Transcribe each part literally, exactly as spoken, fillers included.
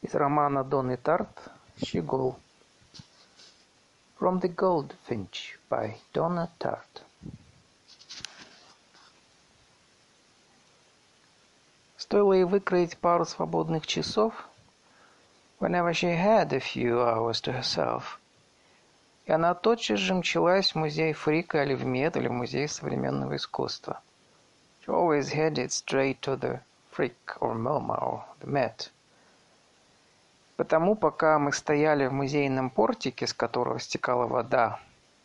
Из романа Донны Тарт «Щегол». From the Goldfinch by Donna Tartt. Стоило ей выкроить пару свободных часов, whenever she had a few hours to herself, и она тотчас же мчалась в музей Фрика или в Мед, или в музей современного искусства. She always headed straight to the Frick or MoMA or the Met. Потому, пока мы стояли в музейном портике, с которого стекала вода,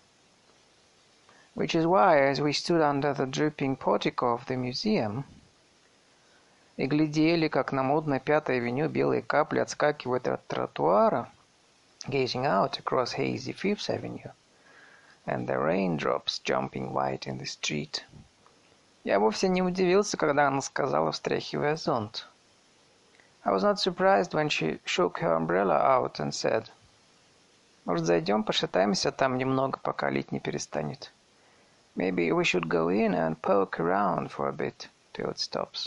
which is why, as we stood under the dripping portico of the museum, и глядели, как на модной Пятой авеню белые капли отскакивают от тротуара, gazing out across hazy Fifth Avenue, and the raindrops jumping white in the street, я вовсе не удивился, когда она сказала, встряхивая зонт. I was not surprised when she shook her umbrella out and said, «Может, зайдем, пошатаемся там немного, пока лить не перестанет? Maybe we should go in and poke around for a bit till it stops».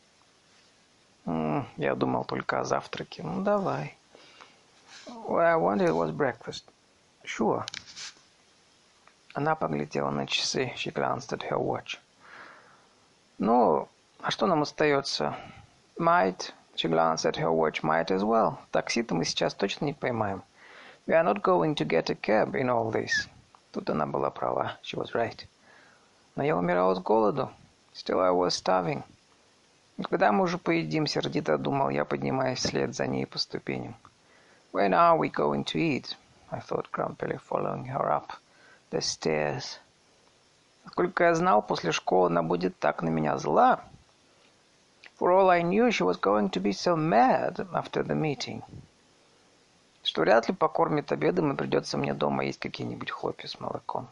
Mm, я думал только о завтраке. Ну, давай. What I wanted was breakfast. Sure. Она поглядела на часы. She glanced at her watch. Ну, а что нам остается? Might... She glanced at her watch. Might as well. Такси-то мы сейчас точно не поймаем. We are not going to get a cab in all this. Тут она была права. She was right. Но я умирала с голоду. Still I was starving. Когда мы уже поедим, сердито думал я, поднимаясь вслед за ней по ступеням. When are we going to eat? I thought grumpily, following her up the stairs. Сколько я знал, после школы она будет так на меня зла. For all I knew, she was going to be so mad after the meeting, что вряд ли покормит обедом и придется мне дома есть какие-нибудь хлопья с молоком.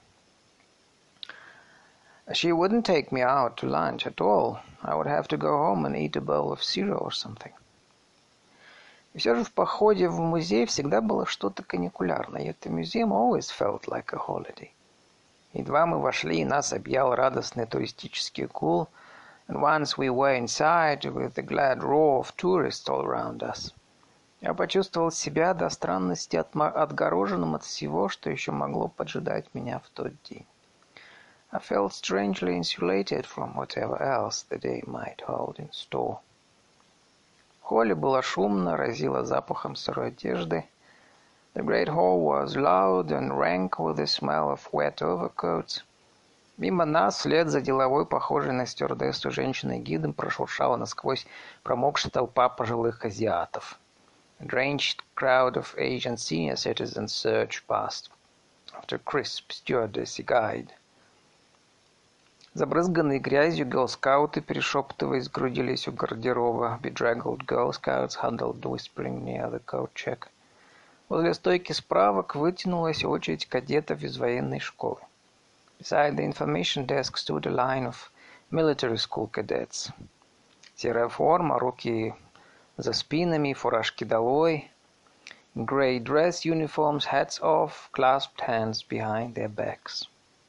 She wouldn't take me out to lunch at all. I would have to go home and eat a bowl of cereal or something. И все же в походе в музей всегда было что-то каникулярное. Yet the museum always felt like a holiday. Едва мы вошли, и нас объял радостный туристический гул, and once we were inside, with the glad roar of tourists all around us, я почувствовал себя до странности отгороженным от всего, что еще могло поджидать меня в тот день. I felt strangely insulated from whatever else the day might hold in store. В холле было шумно, разило запахом сырой одежды. The great hall was loud and rank with the smell of wet overcoats. Мимо нас, вслед за деловой, похожей на стюардессу женщиной-гидом, прошуршала насквозь промокшая толпа пожилых азиатов. A drenched crowd of Asian senior citizens surged past after crisp stewardessy guide. Забрызганные грязью гелскауты, перешептываясь, сгрудились у гардероба. Bedraggled Girl Scouts huddled whispering near the coat check. Возле стойки справок вытянулась очередь кадетов из военной школы. Beside the information desk stood a line of military school cadets. Серая форма, руки за спинами, фуражки долой. Grey dress uniforms, hats off, clasped hands behind their backs.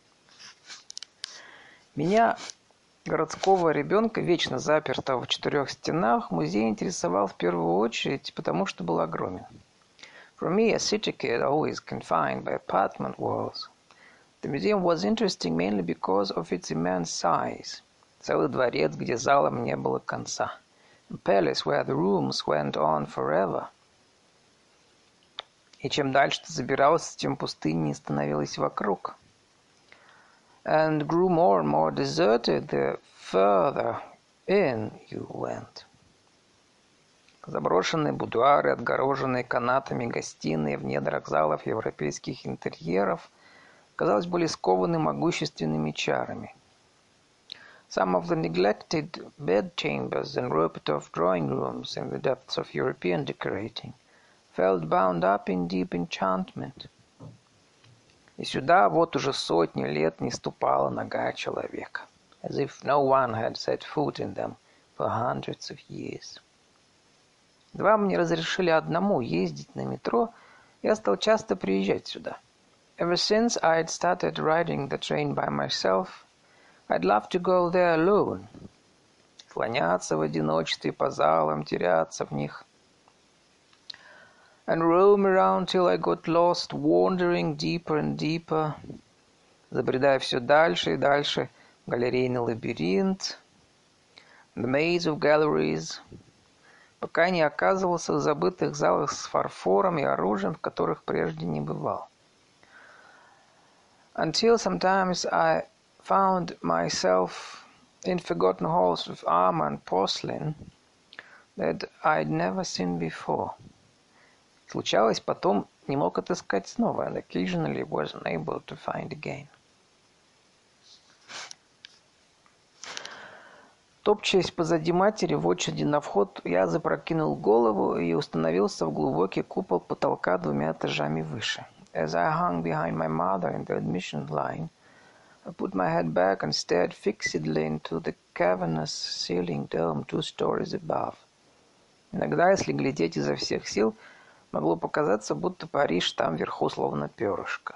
Меня, городского ребенка, вечно запертого в четырех стенах, музей интересовал в первую очередь, потому что был огромен. For me, a city kid, always confined by apartment walls, the museum was interesting mainly because of its immense size. Целый дворец, где залам не было конца. A palace where the rooms went on forever. И чем дальше ты забирался, тем пустыннее становилось вокруг. And grew more and more deserted the further in you went. Заброшенные будуары, отгороженные канатами гостиные в недрах залов европейских интерьеров, казалось, были скованы могущественными чарами. Some of the neglected bedchambers and roped-off drawing rooms in the depths of European decorating felt bound up in deep enchantment. И сюда вот уже сотни лет не ступала нога человека, as if no one had set foot in them for hundreds of years. Два мне разрешили одному ездить на метро, я стал часто приезжать сюда. Ever since I had started riding the train by myself, I'd love to go there alone. Слоняться в одиночестве по залам, теряться в них. and roam around till I got lost, wandering deeper and deeper, забредая все дальше и дальше в галерейный лабиринт, the maze of galleries, пока не оказывался в забытых залах с фарфором и оружием, в которых прежде не бывал. Until sometimes I found myself in forgotten halls with armor and porcelain that I'd never seen before. Случалось, потом не мог отыскать снова, and occasionally was unable to find again. Топчаясь позади матери в очереди на вход, я запрокинул голову и установился в глубокий купол потолка двумя этажами выше. As I hung behind my mother in the admission line, I put my head back and stared fixedly into the cavernous ceiling dome two stories above. Иногда, если глядеть изо всех сил, могло показаться, будто Париж там вверху словно перышко.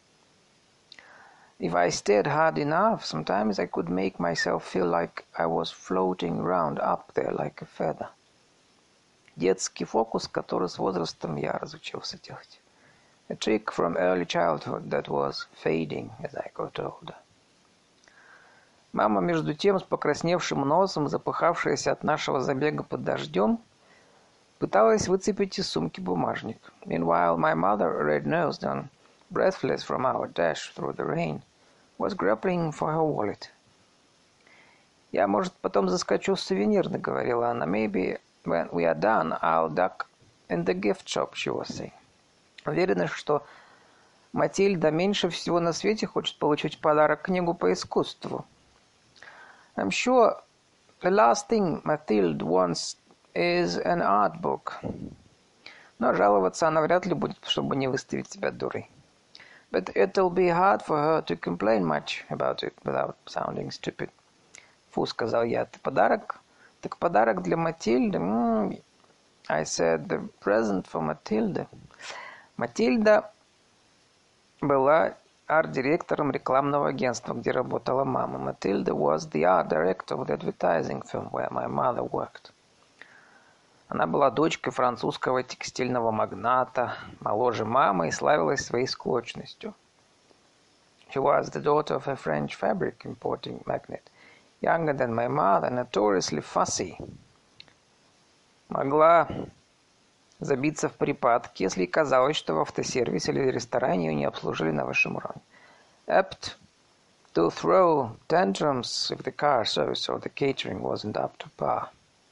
If I stared hard enough, sometimes I could make myself feel like I was floating around up there like a feather. Детский фокус, который с возрастом я разучился делать. A trick from early childhood that was fading as I got older. Мама, между тем, с покрасневшим носом, запыхавшаяся от нашего забега под дождем, пыталась выцепить из сумки бумажник. Meanwhile, my mother, red-nosed and breathless from our dash through the rain, was grappling for her wallet. «Я, может, потом заскочу в сувенирный», — говорила она. «Maybe when we are done, I'll duck in the gift shop», — she was saying. Уверена, что Матильда меньше всего на свете хочет получить в подарок книгу по искусству. I'm sure the last thing Mathilde wants is an art book. Но жаловаться она вряд ли будет, чтобы не выставить себя дурой. But it'll be hard for her to complain much about it without sounding stupid. Фу, сказал я, ты подарок? Так подарок для Матильды? Mm, I said, the present for Matilda. Матильда была арт-директором рекламного агентства, где работала мама. Matilda was the art director of the advertising firm where my mother worked. Она была дочкой французского текстильного магната, моложе мамы и славилась своей склочностью. She was the daughter of a French fabric importing magnate, younger than my mother, notoriously fussy. Могла забиться в припадки, если казалось, что в автосервисе или ресторане ее не обслужили на высшем уровне. Apt to throw tantrums if the car service or the catering wasn't up to par.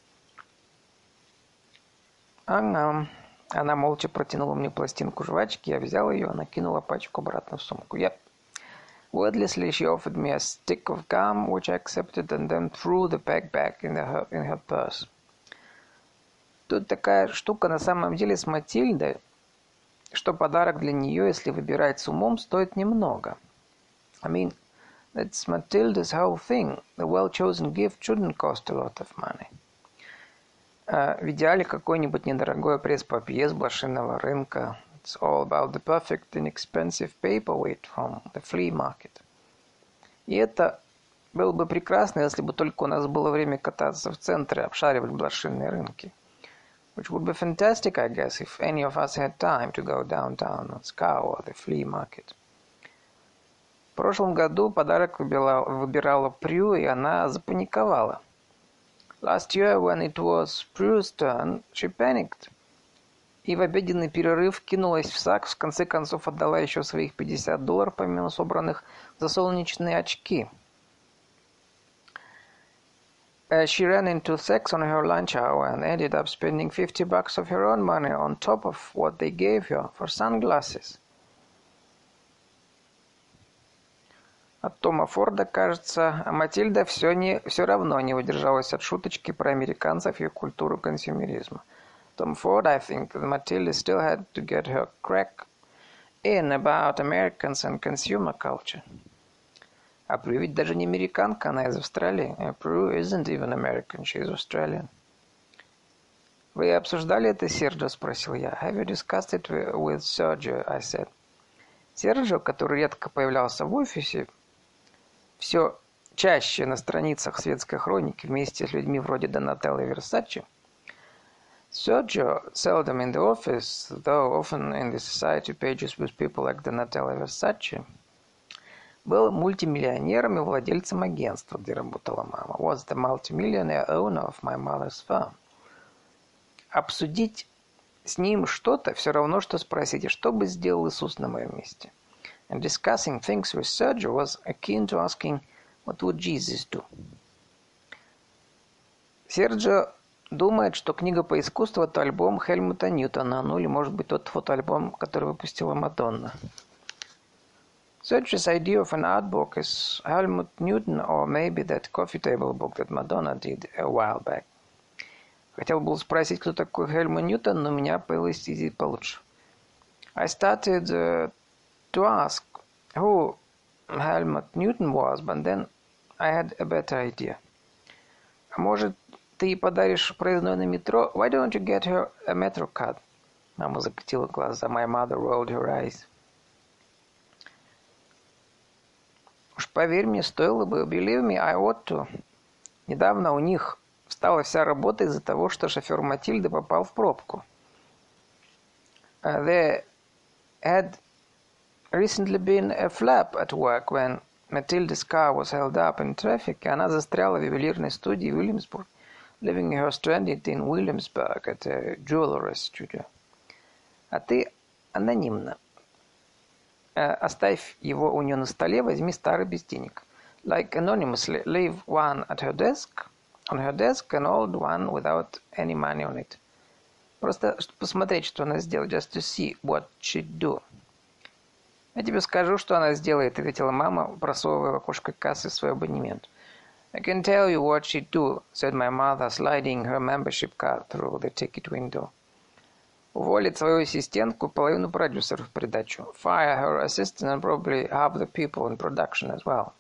Она, она молча протянула мне пластинку жвачки, я взял ее, она кинула пачку обратно в сумку. Yep. Wordlessly she offered me a stick of gum, which I accepted, and then threw the pack back in, the, in her purse. Тут такая штука на самом деле с Матильдой, что подарок для нее, если выбирать с умом, стоит немного. I mean, that's Matilda's whole thing. The well-chosen gift shouldn't cost a lot of money. В идеале какой-нибудь недорогой пресс-папье с блошиного рынка. It's all about the perfect inexpensive paperweight from the flea market. И это было бы прекрасно, если бы только у нас было время кататься в центре, обшаривать блошиные рынки. Which would be fantastic, I guess, if any of us had time to go downtown and scour the flea market. В прошлом году подарок выбирала, выбирала Прю, и она запаниковала. Last year, when it was Prue's turn, she panicked. И в обеденный перерыв кинулась в сакс, в конце концов отдала еще своих пятьдесят долларов, помимо собранных, за солнечные очки. Uh, she ran into Saks on her lunch hour and ended up spending fifty bucks of her own money on top of what they gave her for sunglasses. От Тома Форда, кажется, а Матильда все, не, все равно не удержалась от шуточки про американцев и культуру консюмеризма. Tom Ford, I think that Matilda still had to get her crack in about Americans and consumer culture. А Прю ведь даже не американка, она из Австралии. Prue isn't even American, she's Australian. Вы обсуждали это, Серджио? Спросил я. Have you discussed it with Sergio? I said. Серджио, который редко появлялся в офисе, все чаще на страницах светской хроники вместе с людьми вроде Донателло и Версачи, Sergio, seldom in the office, though often in the society pages with people like Donatella Versace, был мультимиллионером и владельцем агентства, где работала мама. Was the multimillionaire owner of my mother's firm. Обсудить с ним что-то все равно, что спросить, что бы сделал Иисус на моем месте. And discussing things with Sergio was akin to asking, what would Jesus do? Серджио думает, что книга по искусству – это альбом Хельмута Ньютона, ну или, может быть, тот фотоальбом, который выпустила Мадонна. Sergio's idea of an art book is Helmut Newton, or maybe that coffee table book that Madonna did a while back. Хотел был спросить, кто такой Хельмут Ньютон, но у меня появилась идея получше. I started uh, to ask who Helmut Newton was, but then I had a better idea. А может, ты подаришь проездной на метро? Why don't you get her a metro card? Мама закатила глаза. My mother rolled her eyes. Уж поверь мне, стоило бы. Believe me, I ought to. Недавно у них встала вся работа из-за того, что шофер Матильды попал в пробку. Uh, there had recently been a flap at work when Matilda's car was held up in traffic, и она застряла в ювелирной студии в Уильямсбург, leaving her stranded in Williamsburg at a jewelry studio. А ты анонимно. Uh, оставь его у нее на столе, возьми старый без денег. Like anonymously, leave one at her desk, on her desk, an old one without any money on it. Просто чтобы посмотреть, что она сделает, just to see what she'd do. Я тебе скажу, что она сделает, ответила мама, просовывая в окошко кассы свой абонемент. I can tell you what she'd do, said my mother, sliding her membership card through the ticket window. Уволит свою ассистентку, половину продюсеров в придачу. Fire her assistant and probably half the people in production as well.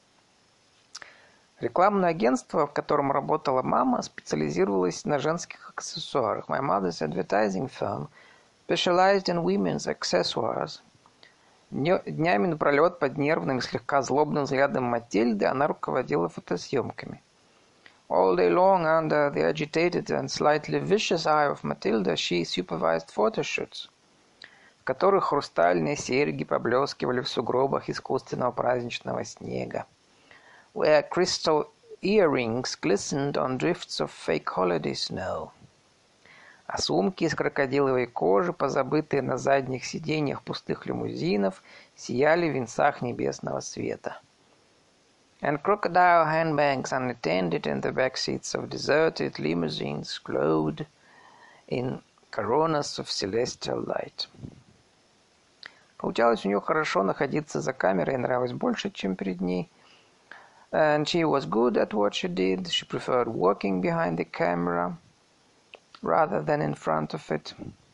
Рекламное агентство, в котором работала мама, специализировалось на женских аксессуарах. My mother's advertising firm specialized in women's accessoires. Днями напролет под нервным и слегка злобным взглядом Матильды она руководила фотосъемками. All day long, under the agitated and slightly vicious eye of Matilda, she supervised photoshoots, в которых хрустальные серьги поблескивали в сугробах искусственного праздничного снега, where crystal earrings glistened on drifts of fake holiday snow. А сумки из крокодиловой кожи, позабытые на задних сиденьях пустых лимузинов, сияли в венцах небесного света. And crocodile handbags unattended in the back seats of deserted limousines glowed in coronas of celestial light. Получалось у нее хорошо находиться за камерой, нравилось больше, чем перед ней. And she was good at what she did. She preferred working behind the camera rather than in front of it.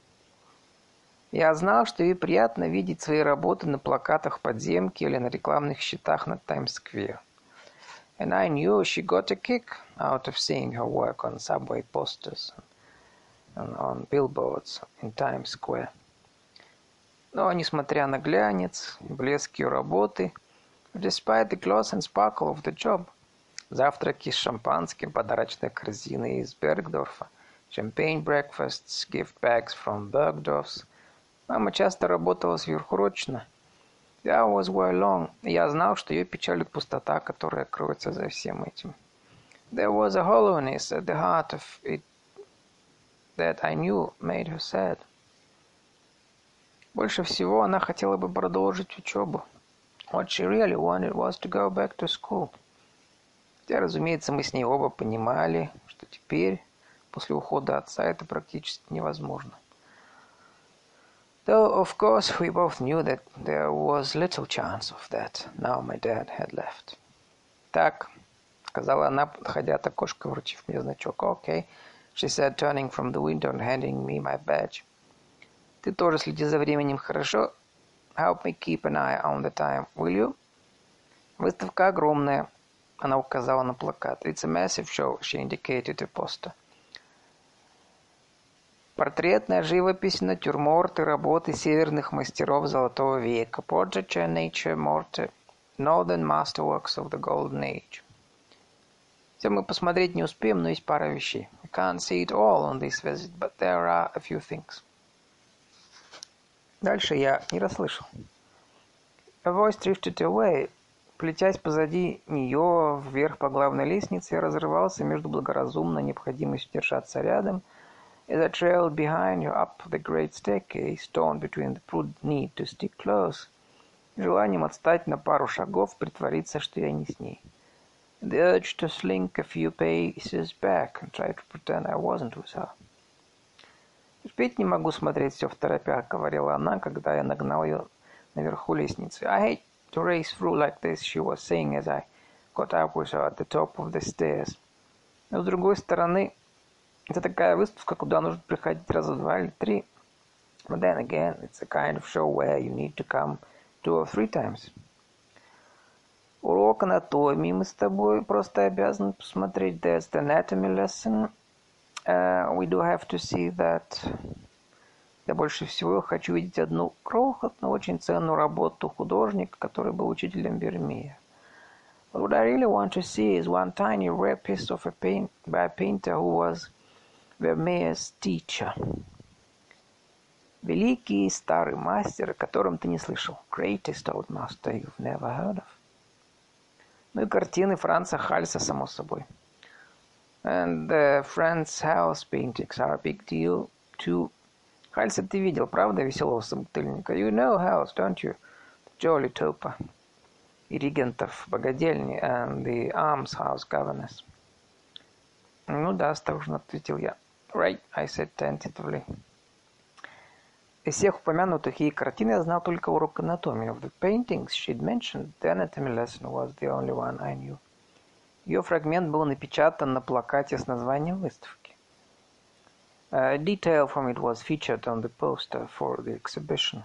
Я знал, что ей приятно видеть свои работы на плакатах подземки или на рекламных щитах на Таймс-сквер. And I knew she got a kick out of seeing her work on subway posters and on billboards in Times Square. Но, несмотря на глянец и блеск ее работы, despite the gloss and sparkle of the job, завтраки с шампанским, подарочные корзины из Бергдорфа, champagne breakfasts, gift bags from Bergdorf's, мама часто работала сверхурочно. The hours were long. Я знал, что ее печалит пустота, которая кроется за всем этим. There was a hollowness at the heart of it that I knew made her sad. Больше всего она хотела бы продолжить учебу. What she really wanted was to go back to school. Хотя, разумеется, мы с ней оба понимали, что теперь, после ухода отца, это практически невозможно. Though, of course, we both knew that there was little chance of that, now my dad had left. Так, сказала она, подходя от окошка, вручив мне значок. Okay, she said, turning from the window and handing me my badge. Ты тоже следи за временем, хорошо? Help me keep an eye on the time, will you? Выставка огромная, она указала на плакат. It's a massive show, she indicated a poster. Портретная живопись, натюрморты, работы северных мастеров Золотого века. Portraiture, nature, mortar, northern masterworks of the Golden Age. Все мы посмотреть не успеем, но есть пара вещей. We can't see it all on this visit, but there are a few things. Дальше я не расслышал. A voice drifted away. Плетясь позади нее вверх по главной лестнице, я разрывался между благоразумной необходимостью держаться рядом, as I trailed behind her up the great staircase, torn between the prudent need to stick close, желанием отстать на пару шагов, притвориться, что я не с ней. The urge to slink a few paces back and try to pretend I wasn't with her. Терпеть не могу смотреть все второпях, говорила она, когда я нагнал ее наверху лестницы. I hate to race through like this, she was saying as I got up with her at the top of the stairs. Но с другой стороны, это такая выставка, куда нужно приходить раза два или три. But then again, it's a kind of show where you need to come two or three times. Урок анатомии мы с тобой просто обязаны посмотреть. There's the anatomy lesson. Uh, we do have to see that. Я больше всего хочу видеть одну крохотную, очень ценную работу художника, который был учителем Вермея. But what I really want to see is one tiny rare piece of a paint by a painter who was Vermeer's teacher. Великий старый мастер, о котором ты не слышал. Greatest old master you've never heard of. Ну и картины Франца Хальса, само собой. And the Franz Hals paintings are a big deal too. Хальса ты видел, правда, веселого собутыльника? You know Hals, don't you? The jolly toper. И регентов богадельни and the almshouse governess. Ну да, осторожно ответил я. Right, I said tentatively. Из всех упомянутых ей картин я знал только урок анатомии. Of the paintings she'd mentioned, the anatomy lesson was the only one I knew. Ее фрагмент был напечатан на плакате с названием выставки. A detail from it was featured on the poster for the exhibition.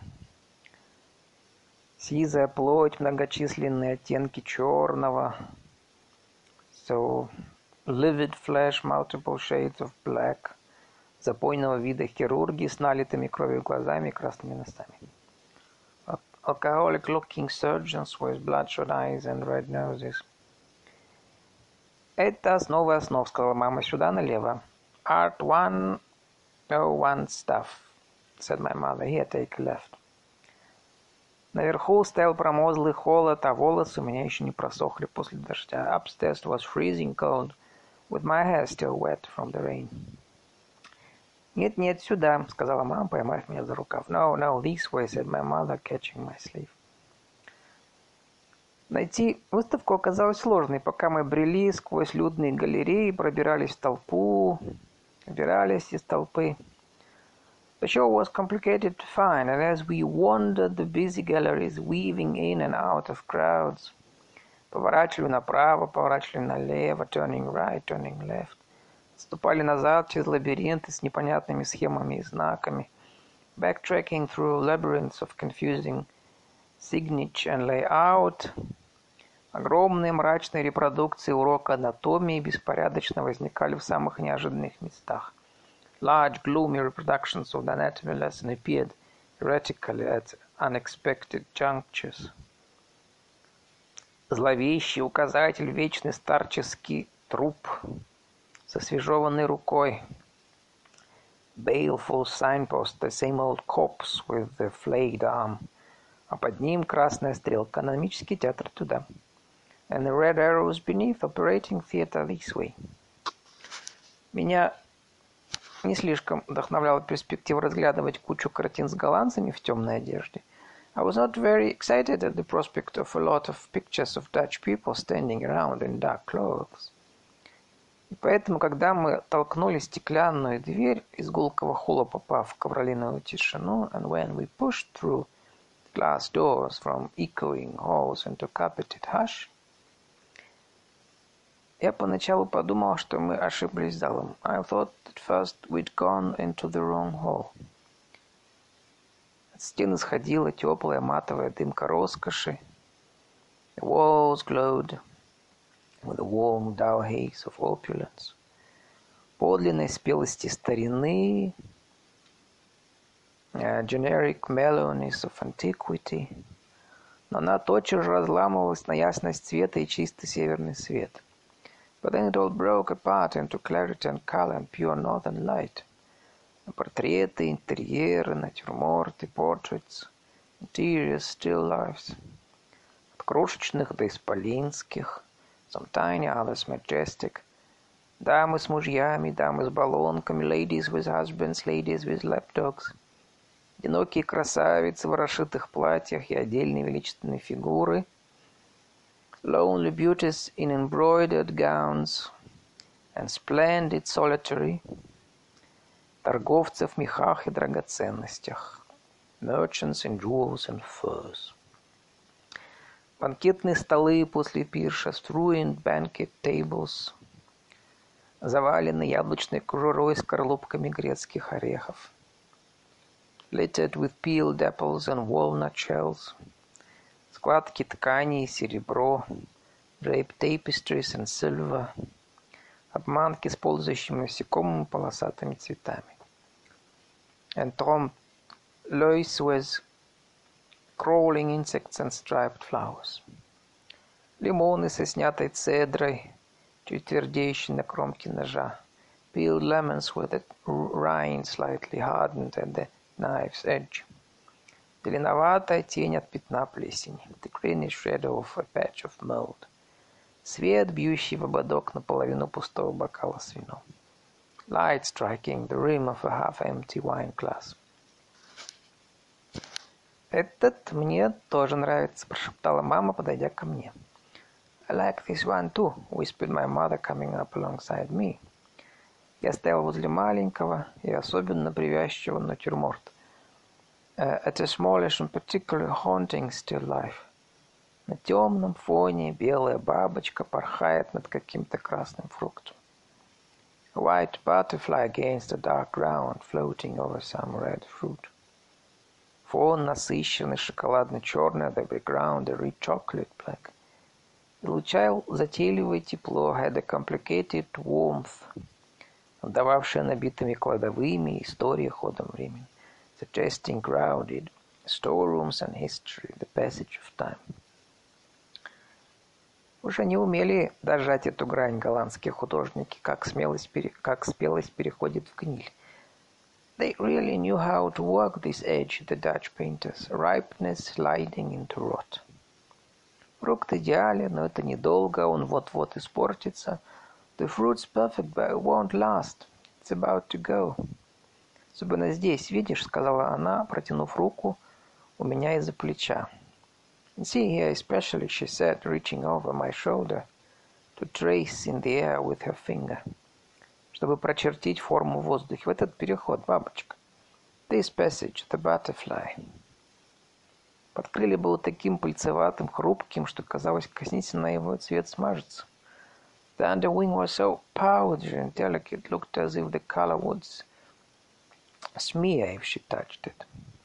Сизая плоть, многочисленные оттенки черного. So, livid flesh, multiple shades of black. Запойного вида хирурги с налитыми кровью глазами и красными носами. Alcoholic-looking surgeons with bloodshot eyes and red noses. Это основа основ, сказала мама, сюда налево. Art one oh one stuff, said my mother. Here, take a left. Наверху стоял промозглый холод, а волосы у меня еще не просохли после дождя. Upstairs was freezing cold, with my hair still wet from the rain. Нет, нет, сюда, сказала мама, поймав меня за рукав. No, no, this way, said my mother, catching my sleeve. Найти выставку оказалось сложной, пока мы брели сквозь людные галереи, пробирались в толпу, выбирались из толпы. The show was complicated to find, and as we wandered the busy galleries, weaving in and out of crowds, поворачивали направо, поворачивали налево, turning right, turning left, отступали назад через лабиринты с непонятными схемами и знаками, backtracking through labyrinths of confusing signage and layout. Огромные мрачные репродукции урока анатомии беспорядочно возникали в самых неожиданных местах. Large, gloomy reproductions of the anatomy lesson appeared erratically at unexpected junctures. Зловещий указатель, вечный старческий труп с освежеванной рукой. Baleful signpost, the same old corpse with the flayed arm. А под ним красная стрелка, анатомический театр туда. And the red arrows beneath, operating theater this way. Меня не слишком вдохновляла перспектива разглядывать кучу картин с голландцами в темной одежде. I was not very excited at the prospect of a lot of pictures of Dutch people standing around in dark clothes. И поэтому, когда мы толкнули стеклянную дверь из гулкого холла, попав в ковролиновую тишину, and when we pushed through glass doors from echoing halls into carpeted hush, я поначалу подумал, что мы ошиблись залом. I thought at first we'd gone into the wrong hall. От стены сходила теплая матовая дымка роскоши. The walls glowed with a warm dull haze of opulence. Подлинной спелости старины, a generic mellowness of antiquity. Но она тотчас же разламывалась на ясность цвета и чистый северный свет. But then it all broke apart into clarity and color and pure northern light. Портреты, интерьеры, натюрморты, portraits, interiors, still lifes. От крошечных до исполинских, some tiny, others majestic. Дамы с мужьями, дамы с баллонками, ladies with husbands, ladies with lapdogs. Одинокие красавицы в расшитых платьях и отдельные величественные фигуры. Lonely beauties in embroidered gowns and splendid solitary. Торговцы в мехах и драгоценностях. Merchants in jewels and furs. Банкетные столы после пиршеств, ruined banquet tables, завалены яблочной кожурой с скорлупками грецких орехов. Littered with peeled apples and walnut shells. Складки ткани и серебро, draped tapestries and silver, обманки с ползающими насекомыми полосатыми цветами. And trompe l'oeil with crawling insects and striped flowers. Лимоны со снятой цедрой, чуть твердеющей на кромке ножа. Peeled lemons with the rind slightly hardened at the knife's edge. Зеленоватая тень от пятна плесени. The greenish shadow of a patch of mold. Свет, бьющий в ободок наполовину пустого бокала с вином. Light striking the rim of a half-empty wine glass. «Этот мне тоже нравится», — прошептала мама, подойдя ко мне. «I like this one too», — whispered my mother, coming up alongside me. Я стоял возле маленького и особенно привязчивого натюрморта. Uh, at a smallish and particularly haunting still life. На темном фоне белая бабочка порхает над каким-то красным фруктом. A white butterfly against a dark ground, floating over some red fruit. Фон насыщенный, шоколадно-черный, the background a rich chocolate black. Излучал затейливое тепло, had a complicated warmth, отдававшее набитыми кладовыми истории ходом времени. Suggesting crowded storerooms and history, the passage of time. Уж они умели дожать эту грань, голландские художники, как, смелость пере... как спелость переходит в гниль. They really knew how to work this edge, the Dutch painters, ripeness sliding into rot. Фрукт идеален, но это недолго, он вот-вот испортится. The fruit's perfect, but it won't last. It's about to go. «Особенно здесь, видишь», — сказала она, протянув руку у меня из-за плеча. «And see here especially», — she said, reaching over my shoulder to trace in the air with her finger, чтобы прочертить форму в воздухе. В этот переход, бабочка. «This passage, the butterfly». Подкрылье было таким пыльцеватым, хрупким, что казалось, коснись на его цвет смажется. The underwing was so powdery and delicate, looked as if the color would smear if she touched it.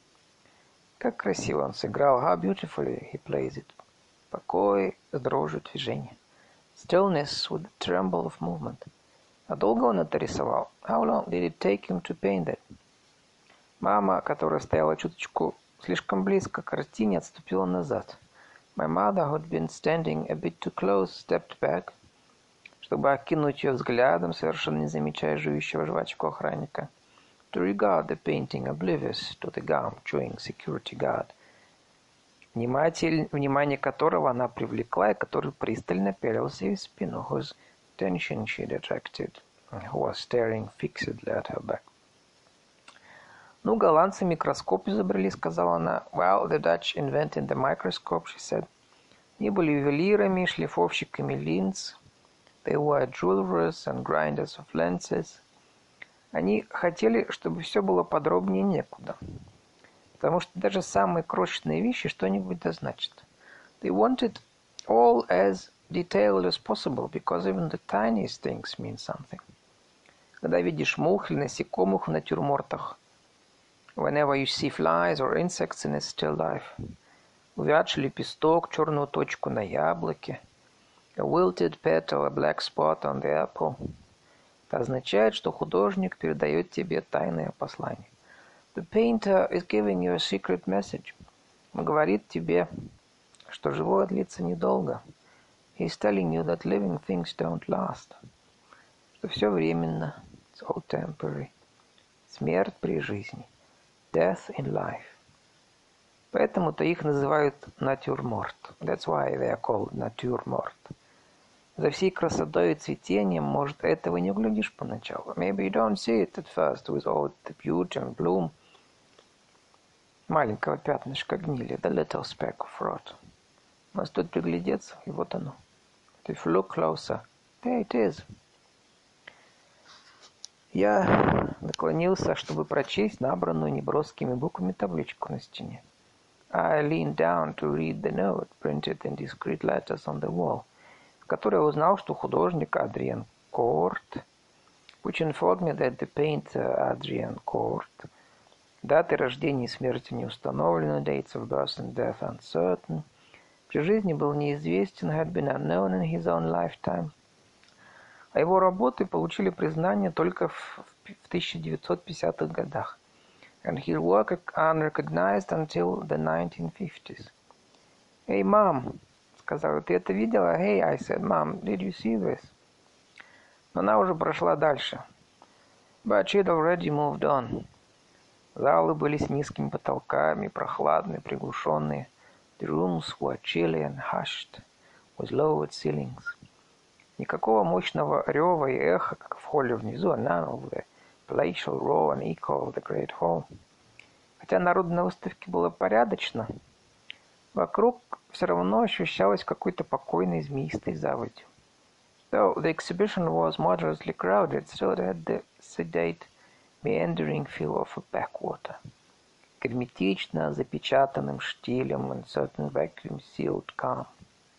Как красиво он сыграл. How beautifully he plays it. Покой с дрожью движения. Stillness with the tremble of movement. А долго он это рисовал? How long did it take him to paint that? Мама, которая стояла чуточку слишком близко к картине, отступила назад. My mother, who had been standing a bit too close, stepped back, чтобы окинуть ее взглядом, совершенно не замечая жующего жвачку охранника. To regard the painting, oblivious to the gum chewing security guard, вниматель, внимание которого она привлекла и который пристально пялился ей в спину, whose attention she had attracted, who was staring fixedly at her back. «Ну, голландцы микроскоп изобрели», — сказала она. «Well, the Dutch invented the microscope», she said. Они были ювелирами, шлифовщиками линз. They were jewelers and grinders of lenses. Они хотели, чтобы все было подробнее некуда, потому что даже самые крошечные вещи что-нибудь да значат. They wanted all as detailed as possible, because even the tiniest things mean something. Когда видишь мух или насекомых в натюрмортах, whenever you see flies or insects in a still life, увядший лепесток, черную точку на яблоке, a wilted petal, a black spot on the apple, это означает, что художник передает тебе тайное послание. The painter is giving you a secret message. Он говорит тебе, что живое длится недолго. He's telling you that living things don't last. Что все временно. It's all temporary. Смерть при жизни. Death in life. Поэтому-то их называют натюрморт. That's why they are called натюрморт. За всей красотой и цветением, может, этого не углядишь поначалу. Maybe you don't see it at first with all the beauty and bloom. Маленького пятнышка гнили. The little speck of rot. Но стоит приглядеться, и вот оно. If you look closer, there it is. Я наклонился, чтобы прочесть набранную неброскими буквами табличку на стене. I leaned down to read the note, printed in discreet letters on the wall, в которой я узнал, что художник Адриан Корт, which informed me that the painter Adrian Court, даты рождения и смерти не установлены, dates of birth and death uncertain, при жизни был неизвестен, had been unknown in his own lifetime, а его работы получили признание только в тысяча девятьсот пятидесятых годах. And his work unrecognized until the nineteen fifties. «Hey, Mom!» — сказала, «ты это видела?» «Hey!» — I said, «Mom, did you see this?» Но она уже прошла дальше. But she'd already moved on. Залы были с низкими потолками, прохладные, приглушенные. The rooms were chilly and hushed, with lowered ceilings. Никакого мощного рева и эха, как в холле внизу, none of the palatial roar and echo of the great hall. Хотя народу на выставке было порядочно, вокруг все равно ощущалось какой-то покойной змеистой заводью. Though the exhibition was moderately crowded, still it had the sedate, meandering feel of a backwater. Герметично запечатанным штилем and certain vacuum-sealed calm.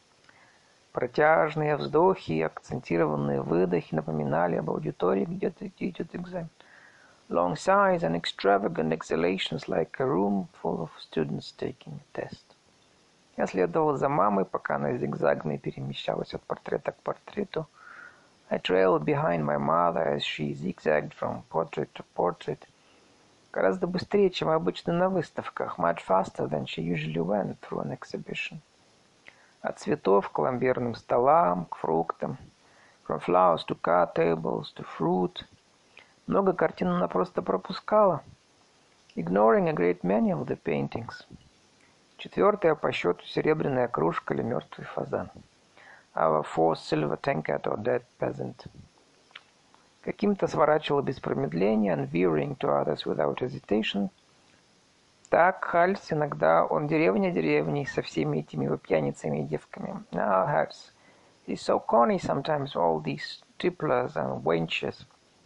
Протяжные вздохи и акцентированные выдохи напоминали об аудитории, где-то идет экзамен. Long sighs and extravagant exhalations like a room full of students taking a test. Я следовал за мамой, пока она зигзагами перемещалась от портрета к портрету. I trailed behind my mother as she zigzagged from portrait to portrait. Гораздо быстрее, чем обычно на выставках. Much faster than she usually went through an exhibition. От цветов к ламберным столам, к фруктам. From flowers to card tables to fruit. Много картин она просто пропускала. Ignoring a great many of the paintings. Четвертая по счету серебряная кружка или мертвый фазан. Our fourth silver tankard or dead peasant. Каким-то сворачивала без промедления, and veering to others without hesitation. Так, Хальс, иногда он деревня деревней со всеми этими его пьяницами и девками. Now, Hals, he's so corny sometimes, all these tipplers and wenches.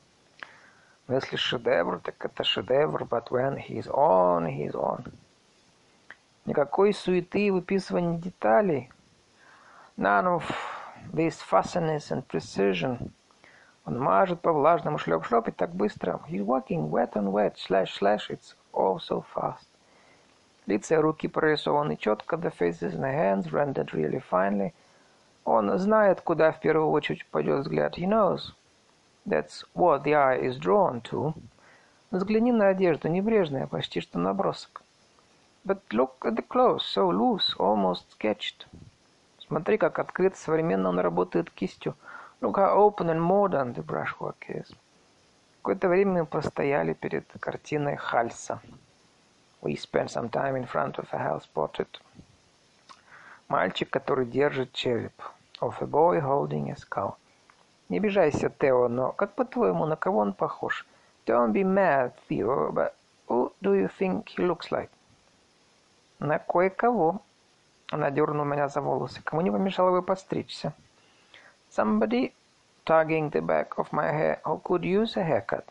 Но если шедевр, так это шедевр, but when he's on, he's on. Никакой суеты и выписывания деталей. None of this fussiness and precision. Он мажет по влажному шлеп-шлеп и так быстро. He's walking wet on wet, slash, slash, it's all so fast. Лица и руки прорисованы четко, the faces and the hands rendered really finely. Он знает, куда в первую очередь пойдет взгляд. He knows. That's what the eye is drawn to. Взгляни на одежду, небрежная, почти что набросок. But look at the clothes, so loose, almost sketched. Смотри, как открыто, современно он работает кистью. Look how open and modern the brushwork is. Какое-то время мы постояли перед картиной Хальса. We spent some time in front of a Hals portrait. Мальчик, который держит череп. Of a boy holding a skull. Не обижайся, Тео, но как по-твоему, на кого он похож? Don't be mad, Theo, but who do you think he looks like? На кое-кого. Она дернула меня за волосы. Кому не помешало бы постричься? Somebody tugging the back of my hair who could use a haircut.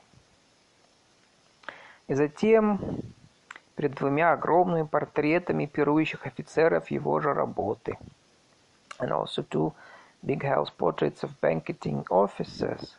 И затем перед двумя огромными портретами пирующих офицеров его же работы. And also two big house portraits of banqueting officers.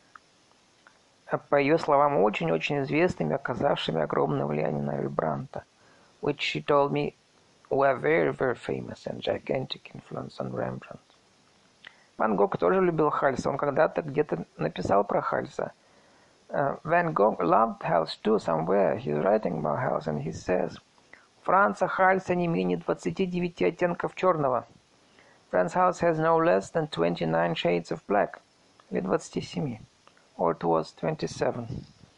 По ее словам, очень-очень известными, оказавшими огромное влияние на Рембрандта, which she told me were very, very famous and gigantic influence on Rembrandt. Ван Гог тоже любил Хальса. Он когда-то где-то написал про Хальса. Uh, Van Gogh loved Hals too somewhere. He's writing about Hals and he says, Франца Хальса не менее двадцати девяти оттенков черного. Friend's house has no less than twenty-nine shades of black. Или двадцати семи. Or it was twenty-seven.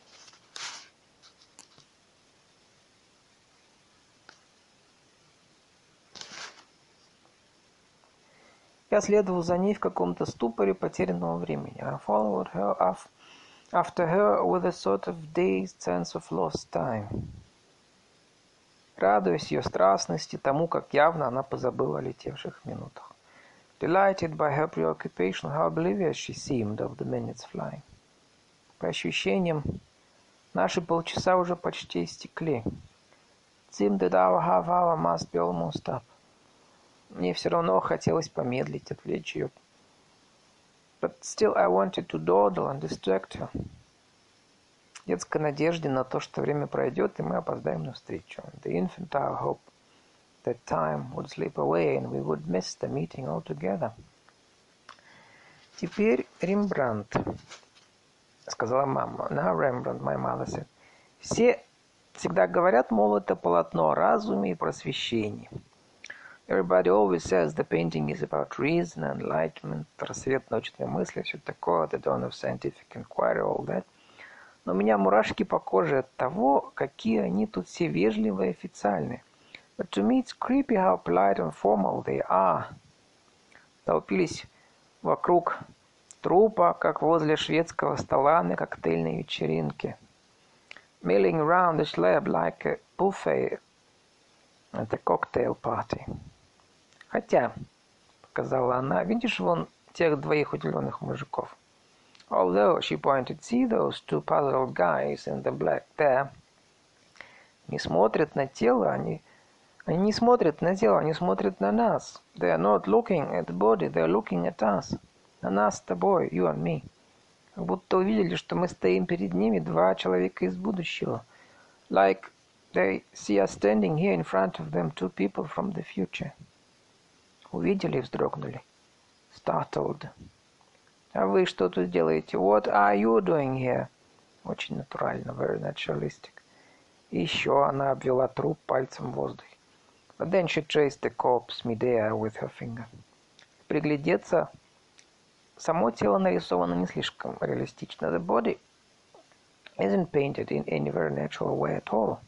Я следовал за ней в каком-то ступоре потерянного времени. I followed her after her with a sort of dazed sense of lost time. Радуясь ее страстности, тому, как явно она позабыла о летевших минутах. Delighted by her preoccupation, how oblivious she seemed of the minutes flying. По ощущениям, наши полчаса уже почти истекли. It seemed that our half hour must be almost up. Мне все равно хотелось помедлить, отвлечь ее. But still I wanted to dawdle and distract her. Детской надежде на то, что время пройдет, и мы опоздаем на встречу. The infantile hope that time would slip away and we would miss the meeting altogether. Теперь Рембрандт, сказала мама. Now Rembrandt, my mother said. Все всегда говорят, мол, это полотно о разуме и просвещении. Everybody always says the painting is about reason, enlightenment, рассвет научной мысли, все такое, the dawn of scientific inquiry, all that. Но у меня мурашки по коже от того, какие они тут все вежливые и официальные. But to me it's creepy how polite and formal they are. Толпились вокруг трупа, как возле шведского стола на коктейльной вечеринке. Milling around the slab like a buffet at a cocktail party. Хотя, показала она, видишь вон тех двоих удивленных мужиков. Although, she pointed, see those two puzzled guys in the black there. Не смотрят на тело, они, они не смотрят на тело, они смотрят на нас. They are not looking at the body, they are looking at us. На нас с тобой, you and me. Как будто увидели, что мы стоим перед ними, два человека из будущего. Like they see us standing here in front of them, two people from the future. Увидели и вздрогнули. Startled. А вы что тут делаете? What are you doing here? Очень натурально, very naturalistic. И еще она обвела труп пальцем в воздухе. But then she traced the corpse mid-air with her finger. Приглядеться, само тело нарисовано не слишком реалистично. The body isn't painted in any very natural way at all.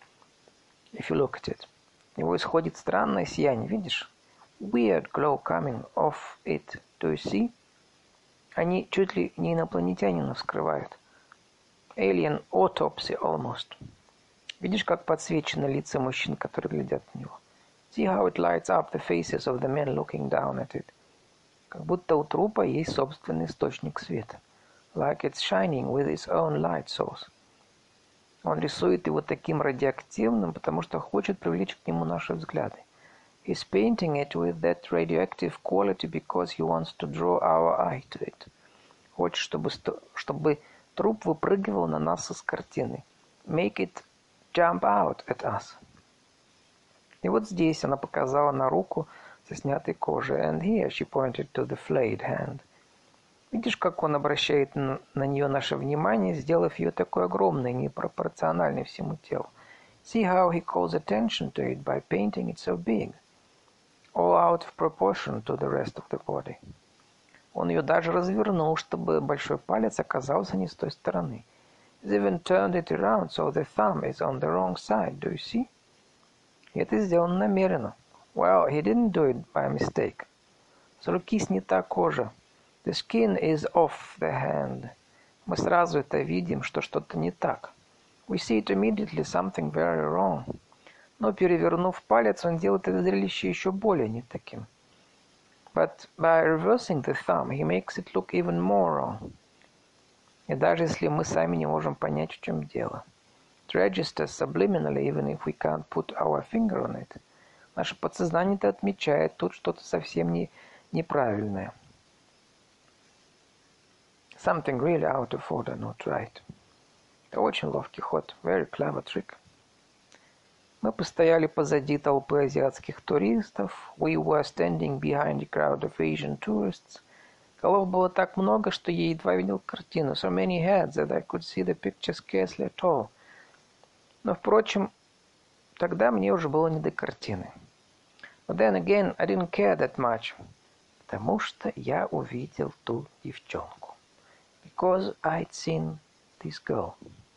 If you look at it. От него исходит странное сияние, видишь? Weird glow coming off it. Do you see? Они чуть ли не инопланетянина вскрывают. Alien autopsy almost. Видишь, как подсвечены лица мужчин, которые глядят на него? See how it lights up the faces of the men looking down at it. Как будто у трупа есть собственный источник света. Like it's shining with its own light source. Он рисует его таким радиоактивным, потому что хочет привлечь к нему наши взгляды. He's painting it with that radioactive quality because he wants to draw our eye to it. Хочет, чтобы, чтобы труп выпрыгивал на нас из картины. Make it jump out at us. И вот здесь она показала на руку со снятой кожей. And here she pointed to the flayed hand. Видишь, как он обращает на, на нее наше внимание, сделав ее такой огромной, непропорциональной всему телу. See how he calls attention to it by painting it so big. All out of proportion to the rest of the body. Он ее даже развернул, чтобы большой палец оказался не с той стороны. He's even turned it around so the thumb is on the wrong side. Do you see? И это сделано намеренно. Well, he didn't do it by mistake. С руки снята кожа. The skin is off the hand. Мы сразу это видим, что что-то не так. We see it immediately, something very wrong. Но перевернув палец, он делает это зрелище еще более не таким. But by reversing the thumb, he makes it look even more wrong. И даже если мы сами не можем понять, в чем дело. It registers subliminally, even if we can't put our finger on it. Наше подсознание-то отмечает тут что-то совсем не, неправильное. Something really out of order, not right. Это очень ловкий ход. Very clever trick. Мы постояли позади толпы азиатских туристов. We were standing behind a crowd of Asian tourists. Голов было так много, что я едва видел картину. So many heads that I could see the picture scarcely at all. Но, впрочем, тогда мне уже было не до картины. But then again, I didn't care that much. Потому что я увидел ту девчонку. Because I'd seen this girl.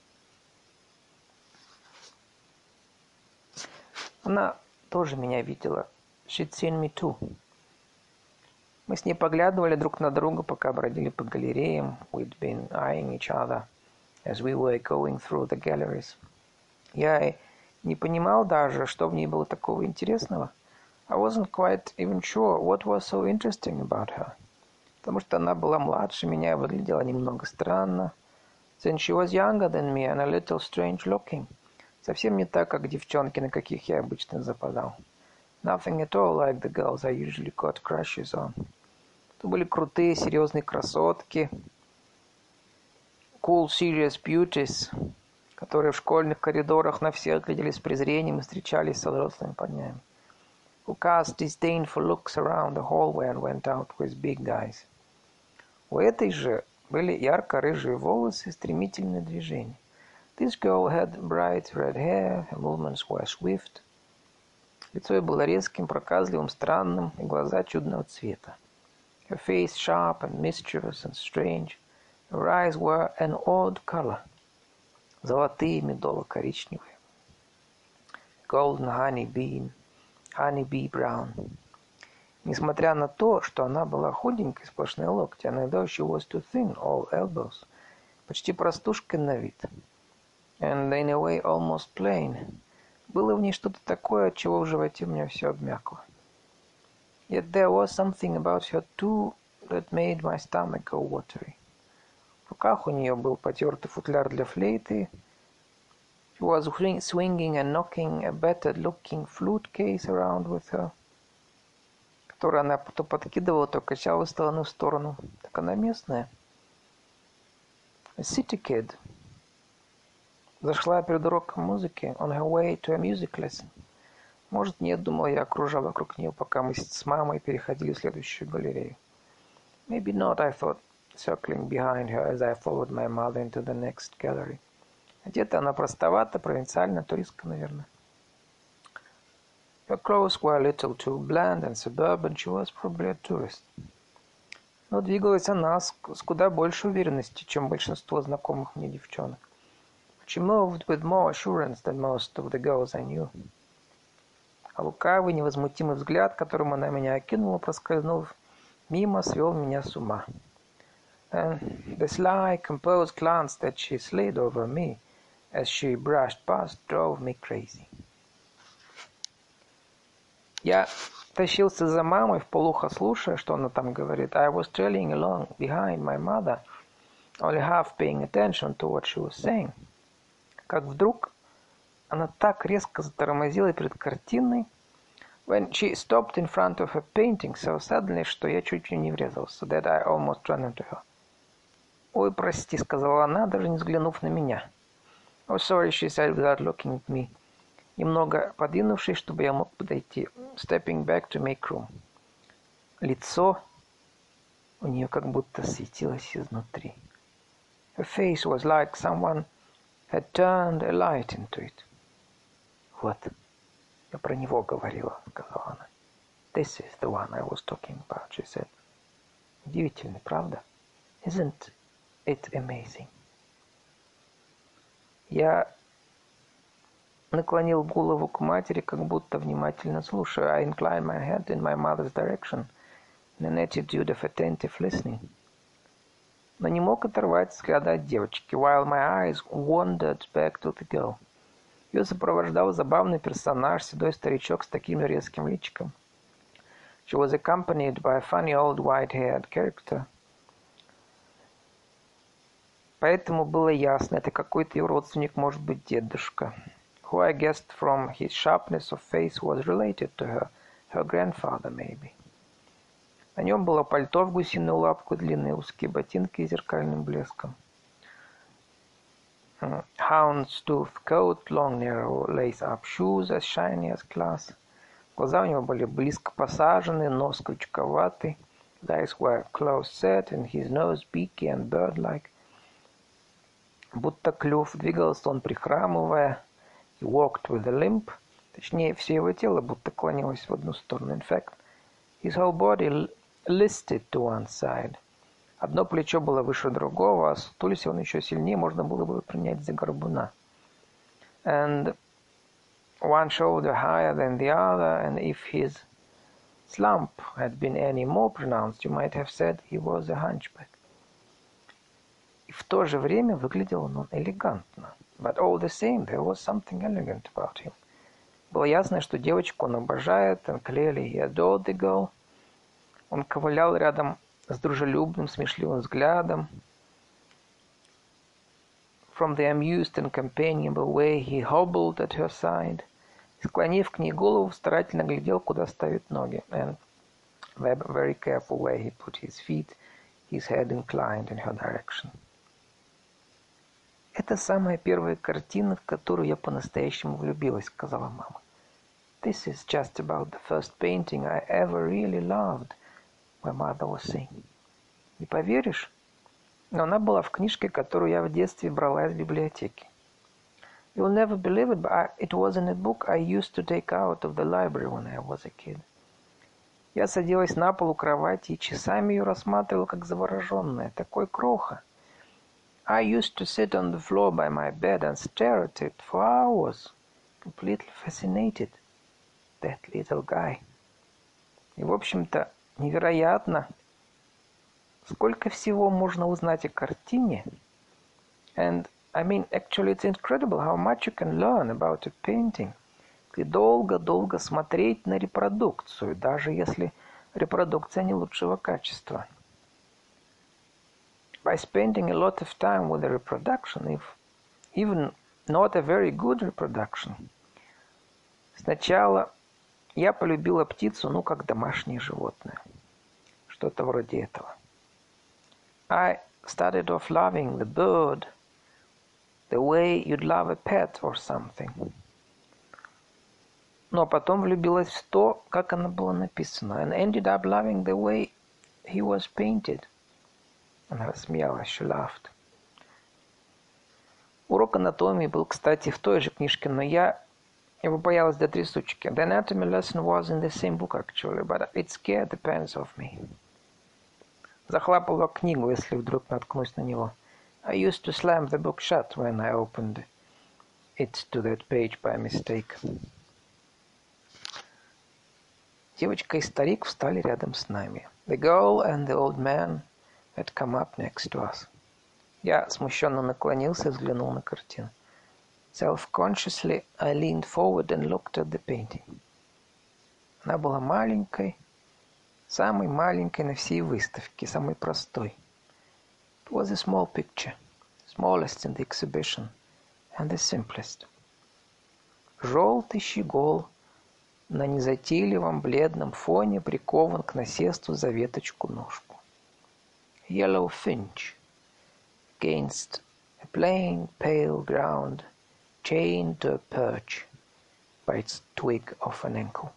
Она тоже меня видела. She'd seen me too. Мы с ней поглядывали друг на друга, пока бродили по галереям. We'd been eyeing each other as we were going through the galleries. Я не понимал даже, что в ней было такого интересного. I wasn't quite even sure what was so interesting about her. Потому что она была младше меня и выглядела немного странно. Then she was younger than me and a little strange looking. Совсем не так, как девчонки, на каких я обычно западал. Nothing at all like the girls I usually got crushes on. Это были крутые, серьезные красотки. Cool, serious beauties, которые в школьных коридорах на всех глядели с презрением и встречались со взрослыми парнями. Who cast disdainful looks around the hallway and went out with big guys. У этой же были ярко-рыжие волосы и стремительные движения. This girl had bright red hair, her movements were swift. Лицо ее было резким, проказливым, странным, и глаза чудного цвета. Her face sharp and mischievous and strange. Her eyes were an odd color. Золотые, медово-коричневые. Golden honey bean, honey bee brown. Несмотря на то, что она была худенькой, сплошные локти, and though she was too thin, all elbows, почти простушкой на вид, and in a way almost plain, было в ней что-то такое, от чего в животе у меня все обмякло. Yet there was something about her too that made my stomach go watery. В руках у нее был потертый футляр для флейты. She was swinging and knocking a battered-looking flute case around with her, который она то подкидывала, то качала из стороны в сторону. Так она местная. A city kid. Зашла перед уроком музыки, on her way to a music lesson. Может, нет, думал я, окружал вокруг нее, пока мы с мамой переходили в следующую галерею. Maybe not, I thought, circling behind her as I followed my mother into the next gallery. Одета она простовато, провинциально, туристка, наверное. Her clothes were a little too bland and suburban. She was probably a tourist. Но двигалась она с, с куда большей уверенностью, чем большинство знакомых мне девчонок. She moved with more assurance than most of the girls I knew. А лукавый, невозмутимый взгляд, которым она меня окинула, проскользнув мимо, свел меня с ума. And the sly, composed glance that she slid over me as she brushed past drove me crazy. Я тащился за мамой, вполуха слушая, что она там говорит. I was trailing along behind my mother, only half paying attention to what she was saying. Как вдруг она так резко затормозила перед картиной, when she stopped in front of a painting so suddenly, что я чуть не врезался, that I almost ran into her. «Ой, прости», — сказала она, даже не взглянув на меня. «Oh, sorry», she said without looking at me. Немного подвинувшись, чтобы я мог подойти. Stepping back to make room. Лицо у нее как будто светилось изнутри. Her face was like someone had turned a light into it. Вот, я про него говорила, сказала она. This is the one I was talking about, she said. Удивительно, правда? Isn't it amazing? Я наклонил голову к матери, как будто внимательно слушая. I inclined my head in my mother's direction, in an attitude of attentive listening. Но не мог оторвать взгляда от девочки, while my eyes wandered back to the girl. Ее сопровождал забавный персонаж, седой старичок с таким резким личиком. She was accompanied by a funny old white-haired character. Поэтому было ясно, это какой-то ее родственник, может быть, дедушка. Who I guessed from his sharpness of face was related to her, her grandfather maybe. На нем было пальто в гусиную лапку, длинные узкие ботинки с зеркальным блеском. Houndstooth coat, long narrow lace-up shoes as shiny as glass. Глаза у него были близко посажены, нос крючковатый. His eyes were close set and his nose beaky and bird-like. Будто клюв, двигался он прихрамывая. He walked with a limp. Точнее, все его тело будто клонилось в одну сторону. In fact, his whole body listed to one side. Одно плечо было выше другого, а сутулись он еще сильнее, можно было бы принять за горбуна. And one shoulder higher than the other, and if his slump had been any more pronounced, you might have said he was a hunchback. И в то же время выглядел он элегантно. But all the same, there was something elegant about him. Было ясно, что девочку он обожает, and clearly he adored the girl. Он ковылял рядом с дружелюбным, смешливым взглядом. From the amused and companionable way he hobbled at her side. Склонив к ней голову, старательно глядел, куда ставит ноги. And the very careful way he put his feet, his head inclined in her direction. Это самая первая картина, в которую я по-настоящему влюбилась, сказала мама. This is just about the first painting I ever really loved, my mother was saying. Не поверишь, но она была в книжке, которую я в детстве брала из библиотеки. You'll never believe it, but I, it was in a book I used to take out of the library when I was a kid. Я садилась на пол у кровати и часами ее рассматривала, как завороженная. Такой кроха. I used to sit on the floor by my bed and stare at it for hours, completely fascinated. That little guy. И, в общем-то, невероятно, сколько всего можно узнать о картине. And, I mean, actually, it's incredible how much you can learn about a painting. И долго-долго смотреть на репродукцию, даже если репродукция не лучшего качества. By spending a lot of time with the reproduction, if even not a very good reproduction. Сначала я полюбила птицу, ну, как домашнее животное. Что-то вроде этого. I started off loving the bird the way you'd love a pet or something. Но потом влюбилась в то, как оно было написано. And ended up loving the way he was painted. Она рассмеялась, she laughed. Урок анатомии был, кстати, в той же книжке, но я его боялась до трясучки. The anatomy lesson was in the same book, actually, but it scared the pants off me. Захлапывала книгу, если вдруг наткнусь на него. I used to slam the book shut when I opened it to that page by mistake. Девочка и старик встали рядом с нами. The girl and the old man had come up next to us. Я смущенно наклонился и взглянул на картину. Self-consciously, I leaned forward and looked at the painting. Она была маленькой, самой маленькой на всей выставке, самой простой. It was a small picture, smallest in the exhibition, and the simplest. Желтый щегол на незатейливом бледном фоне прикован к насесту за веточку-ножку. Yellow finch against a plain pale ground, chained to a perch by its twig of an ankle.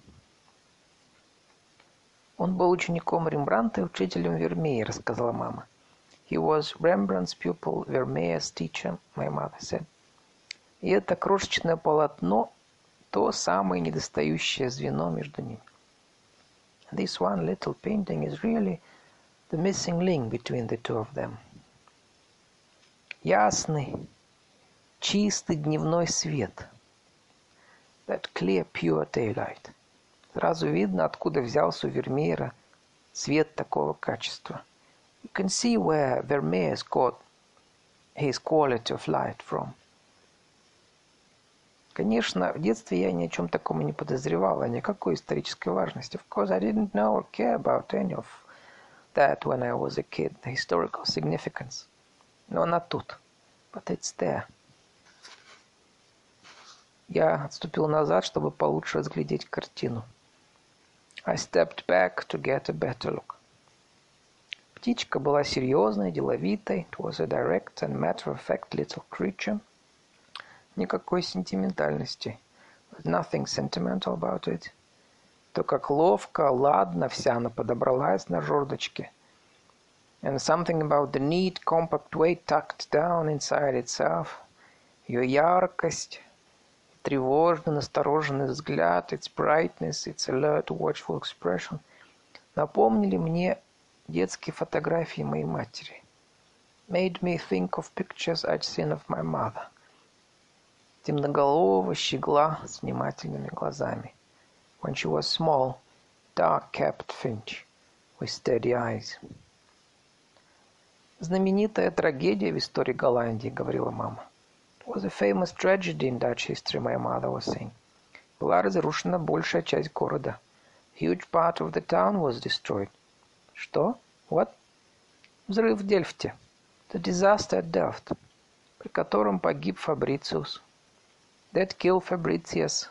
Он был учеником Рембрандта и учителем Вермея, рассказала мама. He was Rembrandt's pupil, Vermeer's teacher, my mother said. И это крошечное полотно — то самое недостающее звено между ними. This one little painting is really the missing link between the two of them. Ясный, чистый дневной свет. That clear, pure daylight. Сразу видно, откуда взялся у Вермеера цвет такого качества. You can see where Vermeer's got his quality of light from. Конечно, в детстве я ни о чем таком не подозревала, никакой исторической важности. Of course, I didn't know or care about any of that when I was a kid, the historical significance. Но она тут. But it's there. Я отступил назад, чтобы получше разглядеть картину. I stepped back to get a better look. Птичка была серьезной, деловитой. It was a direct and matter-of-fact little creature. Никакой сентиментальности. Nothing sentimental about it. То, как ловко, ладно вся она подобралась на жердочке. And something about the neat, compact way tucked down inside itself. Ее яркость, тревожный, настороженный взгляд, its brightness, its alert, watchful expression. напомнили мне детские фотографии моей матери. Made me think of pictures I'd seen of my mother. Темноголового щегла с внимательными глазами. When she was small, dark-capped finch with steady eyes. Знаменитая трагедия в истории Голландии, говорила мама. It was a famous tragedy in Dutch history, my mother was saying. Была разрушена большая часть города. Huge part of the town was destroyed. Что? What? Взрыв в Дельфте. The disaster at Delft, при котором погиб Фабрициус. That killed Fabricius.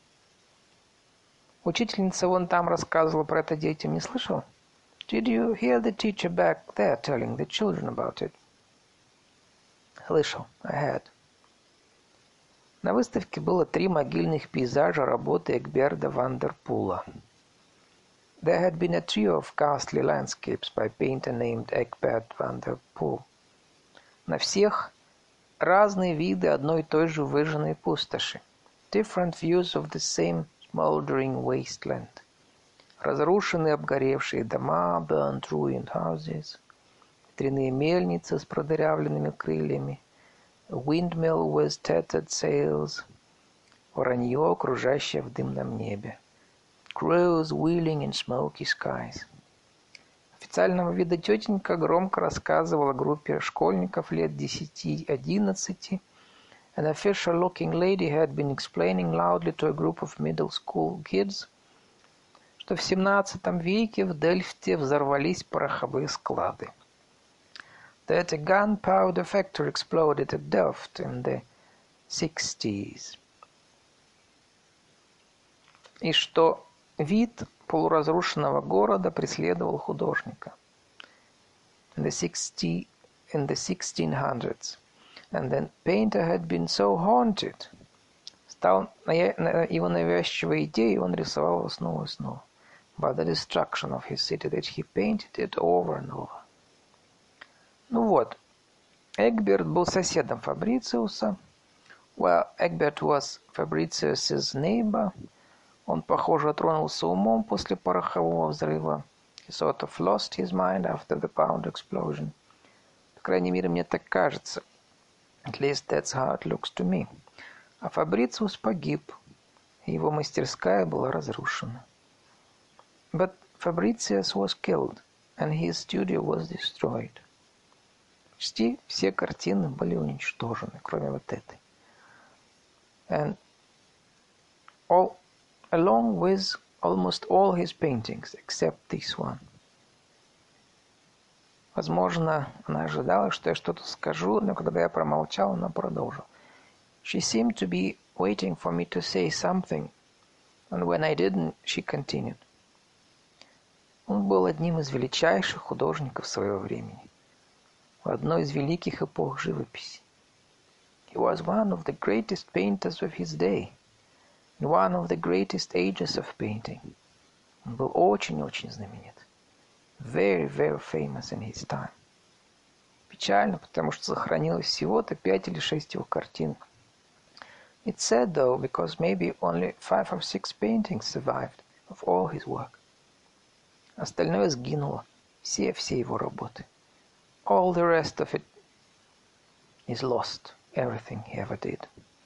Учительница вон там рассказывала про это детям, не слышал? Did you hear the teacher back there telling the children about it? Слышал. I had. На выставке было три могильных пейзажа работы Эгберда ван дер Пула. There had been a trio of ghastly landscapes by a painter named Egbert van der Poel. На всех разные виды одной и той же выжженной пустоши. Different views of the same smoldering wasteland. Разрушенные обгоревшие дома, burnt ruined houses. Ветряные мельницы с продырявленными крыльями. A windmill with tattered sails. Воронье, кружащее в дымном небе. Crows wheeling in smoky skies. Официального вида тетенька громко рассказывала группе школьников лет десяти-одиннадцати. An official-looking lady had been explaining loudly to a group of middle school kids, что в семнадцатом веке в Дельфте взорвались пороховые склады. That a gunpowder factory exploded at Delft in the sixties. И что вид полуразрушенного города преследовал художника. In the sixty, in the sixteen hundreds, and then painter had been so haunted. Стал его навязчивой идеей, он рисовал его снова и снова. By the destruction of his city, that he painted it over and over. Ну вот, Эгберт был соседом Фабрициуса. Well, Egbert was Fabricius's neighbor. Он, похоже, тронулся умом после порохового взрыва. He sort of lost his mind after the powder explosion. По крайней мере, мне так кажется. At least that's how it looks to me. А Фабрициус погиб, и его мастерская была разрушена. But Fabricius was killed, and his studio was destroyed. Почти все картины были уничтожены, кроме вот этой. And all, along with almost all his paintings, except this one. Возможно, она ожидала, что я что-то скажу, но когда я промолчал, она продолжила. She seemed to be waiting for me to say something, and when I didn't, she continued. Он был одним из величайших художников своего времени, в одной из великих эпох живописи. He was one of the greatest painters of his day, in one of the greatest ages of painting. Он был очень-очень знаменит. Very, very famous in his time. Печально, потому что сохранилось всего-то пять или шесть его картин. It's sad, though, because maybe only five or six paintings survived of all his work. Остальное сгинуло. Все-все его работы. All the rest of it is lost. Everything he ever did.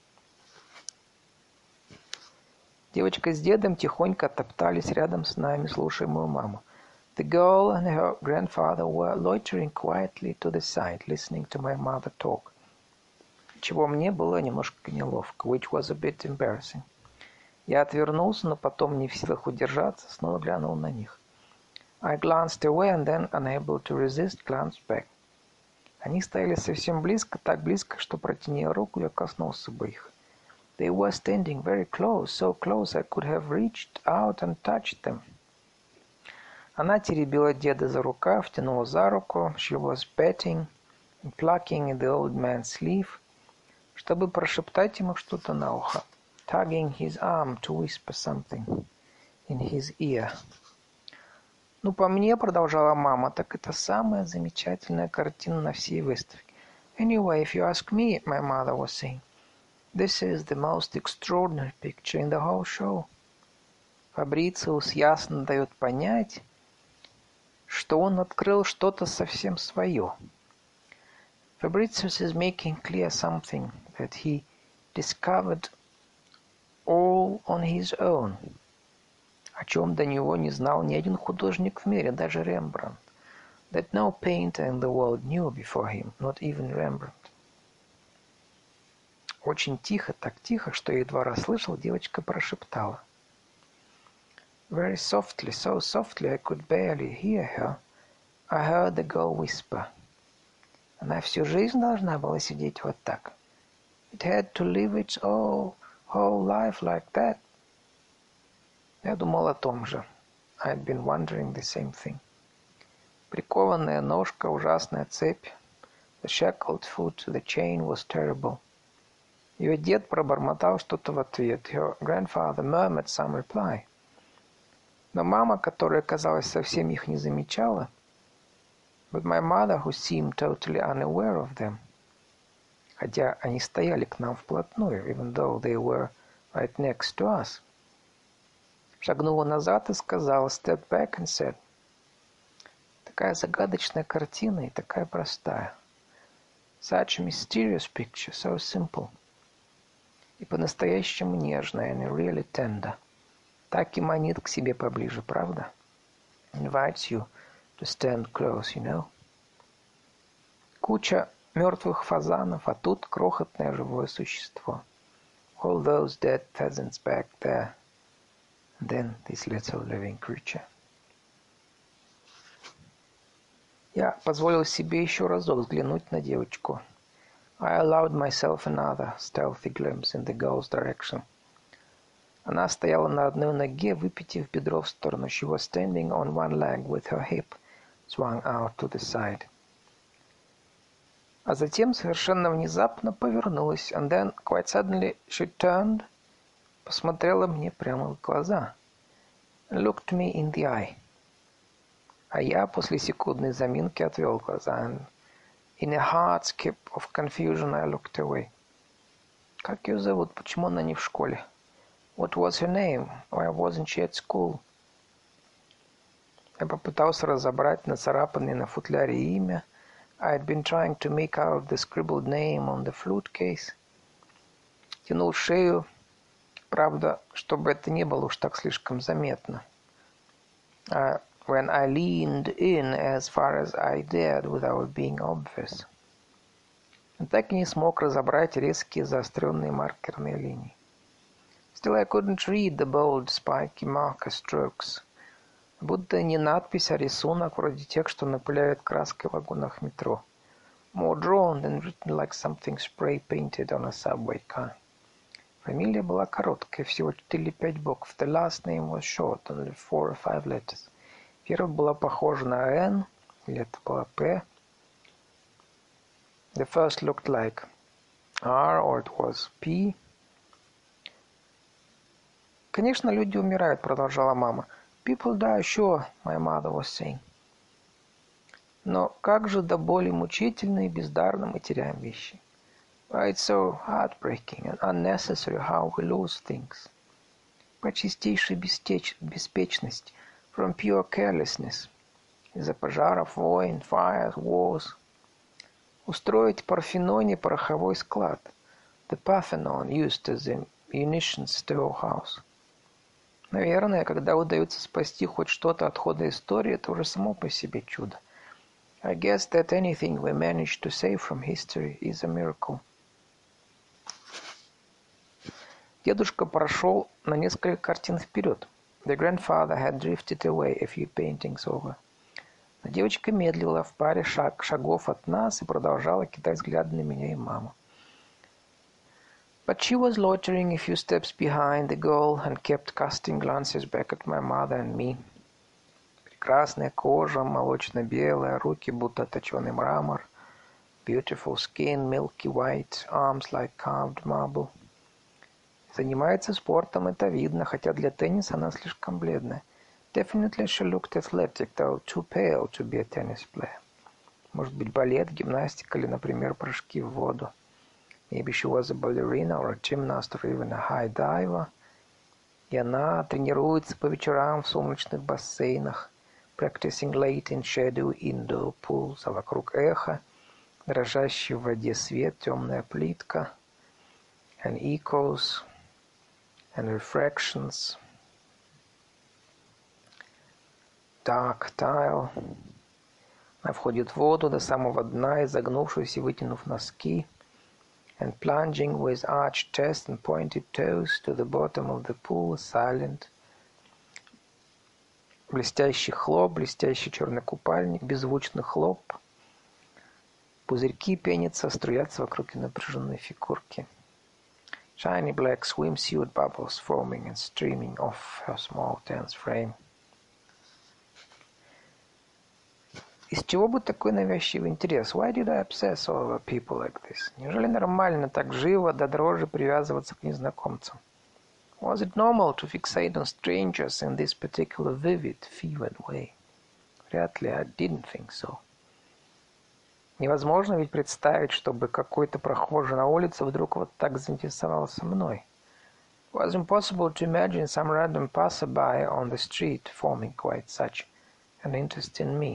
Девочка с дедом тихонько топтались рядом с нами, слушая мою маму. The girl and her grandfather were loitering quietly to the side, listening to my mother talk. Чего мне было немножко неловко, which was a bit embarrassing. Я отвернулся, но потом, не в силах удержаться, снова глянул на них. I glanced away and then, unable to resist, glanced back. Они стояли совсем близко, так близко, что, протяня руку, я коснулся бы их. They were standing very close, so close I could have reached out and touched them. Она теребила деда за рукав, тянула за руку. She was patting and plucking at the old man's sleeve, чтобы прошептать ему что-то на ухо. Tugging his arm to whisper something in his ear. Ну, по мне, продолжала мама, так это самая замечательная картина на всей выставке. Anyway, if you ask me, my mother was saying, this is the most extraordinary picture in the whole show. Фабрициус ясно дает понять, что он открыл что-то совсем свое. Fabricius is making clear something that he discovered all on his own, о чем до него не знал ни один художник в мире, даже Рембрандт. That no painter in the world knew before him, not even Rembrandt. Очень тихо, так тихо, что я едва расслышал, девочка прошептала. Very softly, so softly I could barely hear her, I heard the girl whisper. Она всю жизнь должна была сидеть вот так. It had to live its whole, whole life like that. Я думал о том же. I had been wondering the same thing. Прикованная ножка, ужасная цепь. The shackled foot, the chain was terrible. Ее дед пробормотал что-то в ответ. Her grandfather murmured some reply. Но мама, которая, казалось, совсем их не замечала, but my mother, who seemed totally unaware of them, хотя они стояли к нам вплотную, even though they were right next to us, шагнула назад и сказала, stepped back and said, такая загадочная картина и такая простая. Such a mysterious picture, so simple. И по-настоящему нежная, and really tender. Так и манит к себе поближе, правда? Invites you to stand close, you know. Куча мертвых фазанов, а тут крохотное живое существо. All those dead pheasants back there. And then this little living creature. Я позволил себе еще разок взглянуть на девочку. I allowed myself another stealthy glimpse in the girl's direction. Она стояла на одной ноге, выпитив бедро в сторону. She was standing on one leg with her hip swung out to the side. А затем совершенно внезапно повернулась. And then, quite suddenly, she turned, посмотрела мне прямо в глаза. And looked me in the eye. А я после секундной заминки отвел глаза. And in a hard skip of confusion I looked away. Как ее зовут? Почему она не в школе? What was her name? Why wasn't she at school? Я попытался разобрать нацарапанное на футляре имя. I had been trying to make out the scribbled name on the flute case. Тянул шею, правда, чтобы это не было уж так слишком заметно. Uh, when I leaned in as far as I dared without being obvious. И так и не смог разобрать резкие заостренные маркерные линии. Still I couldn't read the bold, spiky marker strokes. Будто не надпись, а рисунок, вроде тех, что напыляют краской в вагонах метро. More drawn than written like something spray-painted on a subway car. Фамилия была короткая, всего четыре или пять букв. The last name was short, only four or five letters. Первая была похожа на N, или это была P. The first looked like R, or it was P. Конечно, люди умирают, продолжала мама. People die, sure, my mother was saying. Но как же до боли мучительно и бездарно мы теряем вещи. Why it's so heartbreaking and unnecessary how we lose things. По чистейшей бестеч... беспечности, from pure carelessness. Из-за пожаров, войн, fires, wars. Устроить в Парфеноне пороховой склад. The Parthenon used as a munitions storehouse. Наверное, когда удается спасти хоть что-то от хода истории, это уже само по себе чудо. I guess that anything we manage to save from history is a miracle. Дедушка прошел на несколько картин вперед. The grandfather had drifted away a few paintings over. Но девочка медлила в паре шаг, шагов от нас и продолжала кидать взгляды на меня и маму. But she was loitering a few steps behind the girl and kept casting glances back at my mother and me. Прекрасная кожа, молочно-белая, руки будто точеный мрамор. Beautiful skin, milky white, arms like carved marble. Занимается спортом, это видно, хотя для тенниса она слишком бледная. Definitely she looked athletic, though too pale to be a tennis player. Может быть, балет, гимнастика или, например, прыжки в воду. Maybe she was a ballerina or a gymnast or even a high diver. И она тренируется по вечерам в сумрачных бассейнах, practicing late in shadow indoor pools, а вокруг эхо, дрожащий в воде свет, темная плитка, and echoes and refractions, dark tile. Она входит в воду до самого дна, изогнувшись и вытянув носки, and plunging with arched chest and pointed toes to the bottom of the pool, silent. Блестящий хлоп, блестящий черный купальник, беззвучный хлоп. Пузырьки пенятся, струятся вокруг напряженной фигурки. Shiny black swimsuit bubbles foaming and streaming off her small tense frame. Из чего бы такой навязчивый интерес? Why did I obsess over people like this? Неужели нормально так живо до дрожи привязываться к незнакомцам? Was it normal to fixate on strangers in this particular vivid, fevered way? Вряд ли, I didn't think so. Невозможно ведь представить, чтобы какой-то прохожий на улице вдруг вот так заинтересовался мной. It was impossible to imagine some random passerby on the street forming quite such an interest in me.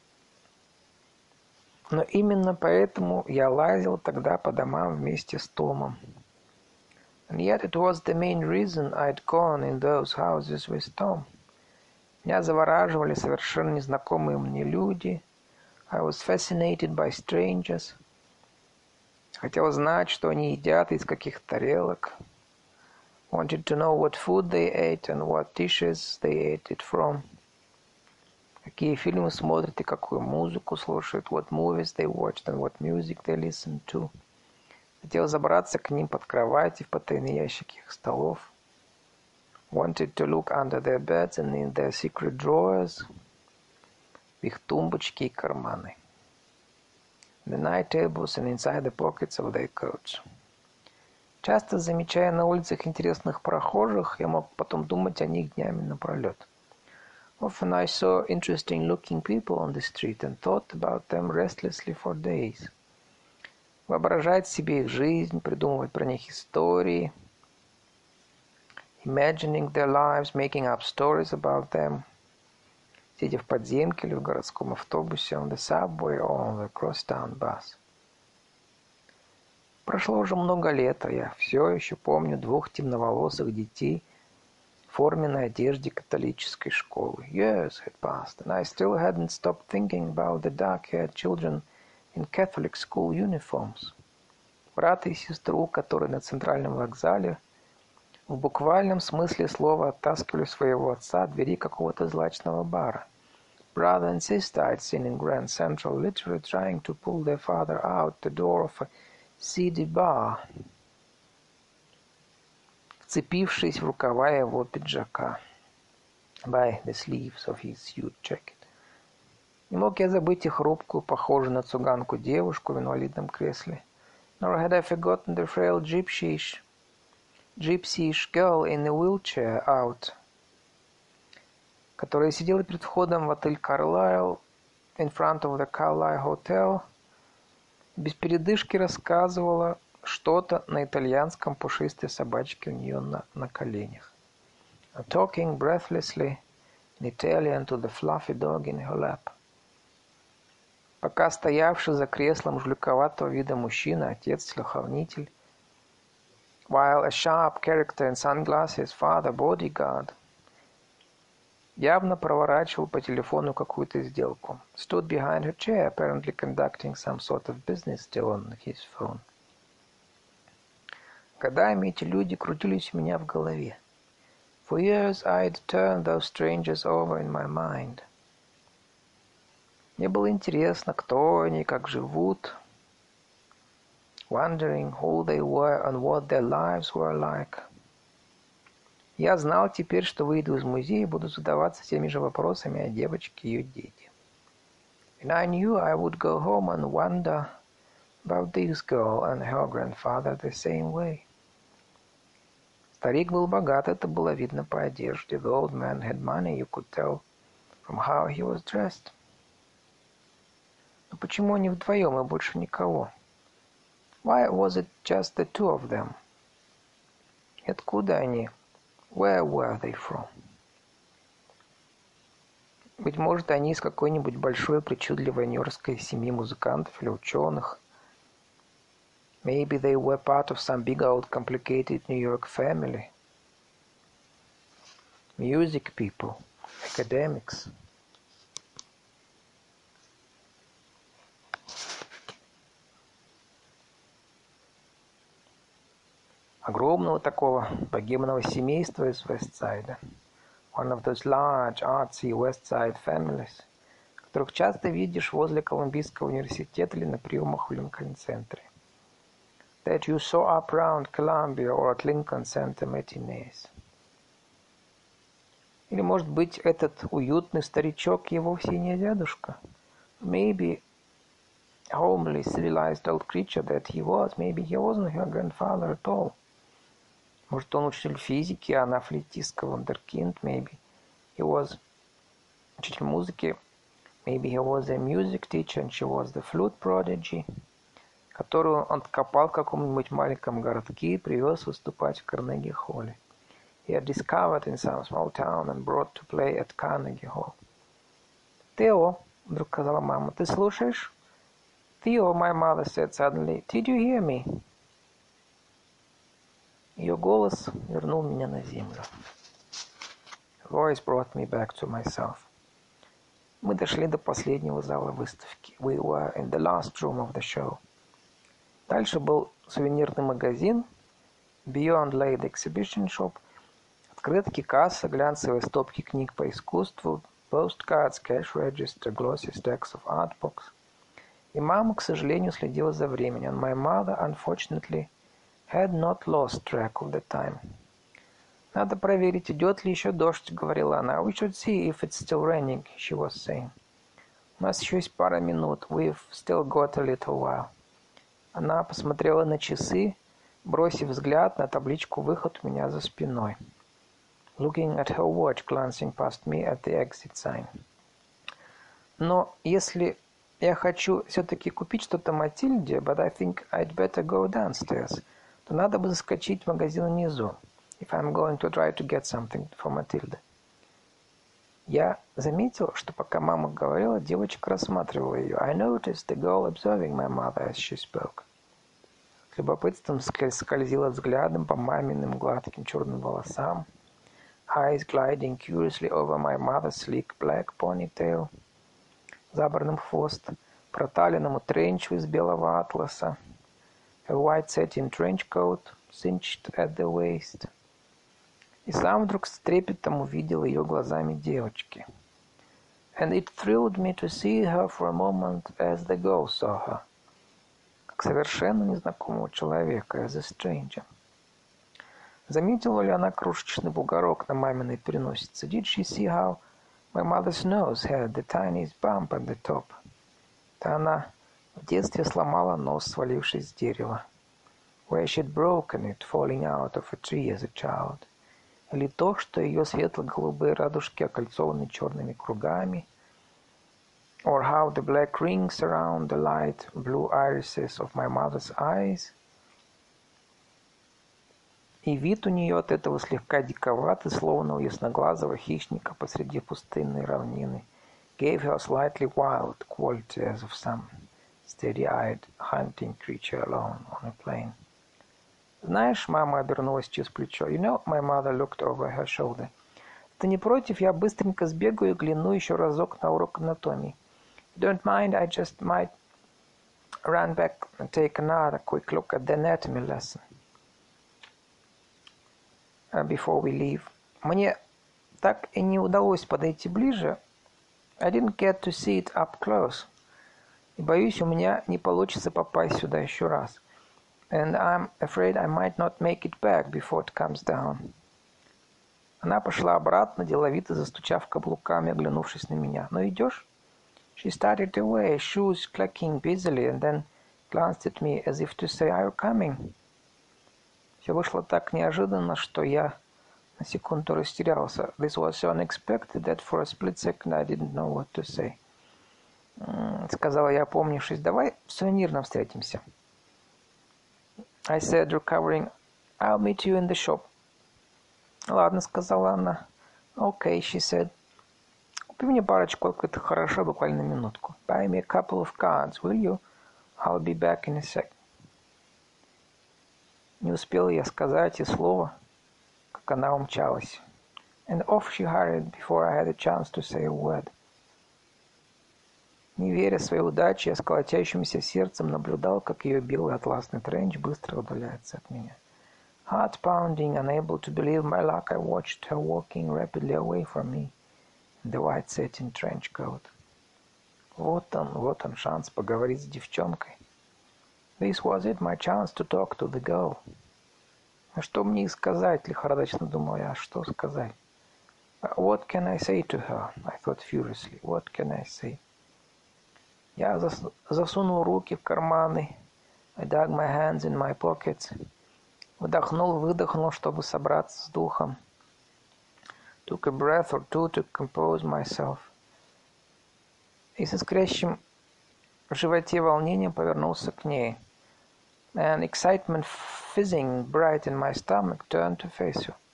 Но именно поэтому я лазил тогда по домам вместе с Томом. And yet it was the main reason I'd gone in those houses with Tom. Меня завораживали совершенно незнакомые мне люди. I was fascinated by strangers. Хотел знать, что они едят и из каких тарелок. Wanted to know what food they ate and what dishes they ate it from. Какие фильмы смотрят и какую музыку слушают. What movies they watched and what music they listened to. Хотел забраться к ним под кровать и в потайные ящики их столов. Wanted to look under their beds and in their secret drawers. В их тумбочки и карманы. The night tables and inside the pockets of their coats. Часто замечая на улицах интересных прохожих, я мог потом думать о них днями напролет. Often I saw interesting-looking people on the street and thought about them restlessly for days. Воображать себе их жизнь, придумывать про них истории. Imagining their lives, making up stories about them. Сидя в подземке или в городском автобусе, on the subway or on the crosstown bus. Прошло уже много лет, а я все еще помню двух темноволосых детей в форменной одежде католической школы. Years had passed, and I still hadn't stopped thinking about the dark-haired children in Catholic school uniforms. Брата и сестру, которые на центральном вокзале в буквальном смысле слова оттаскивали своего отца от двери какого-то злачного бара. Brother and sister I'd seen in Grand Central literally trying to pull their father out the door of a seedy bar, вцепившись в рукава его пиджака, by the sleeves of his suit jacket. Не мог я забыть и хрупкую, похожую на цыганку девушку в инвалидном кресле. Nor had I forgotten the frail gypsyish, gypsyish girl in a wheelchair out, которая сидела перед входом в отель Carlyle, in front of the Carlyle Hotel, без передышки рассказывала что-то на итальянском пушистой собачке у нее на, на коленях. Talking breathlessly in Italian to the fluffy dog in her lap. Пока стоявший за креслом жуликоватого вида мужчина, отец-телохранитель, while a sharp character in sunglasses, father, bodyguard, явно проворачивал по телефону какую-то сделку. Stood behind her chair, apparently conducting some sort of business deal on his phone. Годами эти люди крутились у меня в голове. For years I'd turned those strangers over in my mind. Мне было интересно, кто они, как живут. Wondering who they were and what their lives were like. Я знал теперь, что выйду из музея и буду задаваться теми же вопросами о девочке и ее дети. And I knew I would go home and wonder about this girl and her grandfather the same way. Старик был богат, это было видно по одежде. The old man had money, you could tell from how he was dressed. Но почему они вдвоем и больше никого? Why was it just the two of them? И откуда они? Where were they from? Быть может, они из какой-нибудь большой причудливой нью-йоркской семьи музыкантов или ученых. Maybe they were part of some big old complicated New York family. Music people, academics. Огромного такого богемного семейства из Вестсайда. One of those large, artsy West Side families, которых часто видишь возле Колумбийского университета или на приемах в Линкольн-центре. That you saw up around Columbia or at Lincoln Center matinees. Или, может быть, этот уютный старичок и вовсе не дедушка. Maybe homely, civilized old creature that he was, maybe he wasn't her grandfather at all. Может, он учитель физики, а она флейтистка вундеркинд. Maybe he was учитель музыки. Maybe he was a music teacher and she was the flute prodigy, которую он откопал в каком-нибудь маленьком городке и привез выступать в Карнеги-холле. He had discovered in some small town and brought to play at Carnegie Hall. «Тео», — вдруг сказала мама, — «ты слушаешь?» «Theo», my mother said suddenly, «did you hear me?» Ее голос вернул меня на землю. Her voice brought me back to myself. Мы дошли до последнего зала выставки. We were in the last room of the show. Дальше был сувенирный магазин, Beyond Lay the Exhibition Shop, открытки, касса, глянцевые стопки книг по искусству, postcards, cash register, glossy stacks of art books. И мама, к сожалению, следила за временем. And my mother, unfortunately, had not lost track of the time. «Надо проверить, идет ли еще дождь», — говорила она. «We should see if it's still raining», she was saying. «У нас еще есть пара минут. We've still got a little while». Она посмотрела на часы, бросив взгляд на табличку «Выход» у меня за спиной. Looking at her watch, glancing past me at the exit sign. «Но если я хочу все-таки купить что-то Матильде, but I think I'd better go downstairs», то надо бы заскочить в магазин внизу. If I'm going to try to get something for Matilda. Я заметил, что пока мама говорила, девочка рассматривала ее. I noticed the girl observing my mother as she spoke. С любопытством скользила взглядом по маминым гладким черным волосам. Eyes gliding curiously over my mother's sleek black ponytail. Забранным хвост, проталенному тренчу из белого атласа. A white satin trench coat, cinched at the waist. И сам вдруг с трепетом увидел ее глазами девочки. And it thrilled me to see her for a moment as the girl saw her. Как совершенно незнакомого человека, as a stranger. Заметила ли она крошечный бугорок на маминой переносице? Did she see how my mother's nose had the tiniest bump at the top? Да она в детстве сломала нос, свалившись с дерева. Where she'd broken it, falling out of a tree as a child. Или то, что ее светло-голубые радужки окольцованы черными кругами. Or how the black rings surround the light blue irises of my mother's eyes. И вид у нее от этого слегка диковатый, словно у ясноглазого хищника посреди пустынной равнины. Gave her a slightly wild quality as of some steady-eyed hunting creature alone on a plain. «Знаешь, мама обернулась через плечо. You know, my mother looked over her shoulder. Ты не против, я быстренько сбегаю и гляну еще разок на урок анатомии. Don't mind, I just might run back and take another quick look at the anatomy lesson before we leave. Мне так и не удалось подойти ближе. I didn't get to see it up close. И боюсь, у меня не получится попасть сюда еще раз. And I'm afraid I might not make it back before it comes down». Она пошла обратно, деловито застучав каблуками, оглянувшись на меня. «Ну идешь?» She started away, shoes clacking busily, and then glanced at me as if to say, "Are you coming?" Все вышло так неожиданно, что я на секунду растерялся. This was so unexpected that for a split second I didn't know what to say. Сказала я, опомнившись, «Давай в сувенирном встретимся». I said, recovering, "I'll meet you in the shop." «Ладно», — сказала она. «Okay», she said. Купи мне парочку открытых хорошо, буквально минутку. Buy me a couple of cards, will you? I'll be back in a sec. Не успел я сказать и слова, как она умчалась. And off she hurried before I had a chance to say a word. Не веря своей удаче, я с колотящимся сердцем наблюдал, как ее белый атласный тренч быстро удаляется от меня. Heart pounding, unable to believe my luck, I watched her walking rapidly away from me in the white satin trench coat. Вот он, вот он шанс поговорить с девчонкой. This was it, my chance to talk to the girl. А что мне и сказать, лихорадочно думал я, что сказать? What can I say to her? I thought furiously. What can I say? Я зас- засунул руки в карманы. I dug my hands in my pockets. Вдохнул, выдохнул, чтобы собраться с духом. Took a breath or two to compose myself. И с искрящим в животе волнением повернулся к ней. And excitement fizzing bright in my stomach turned to face her.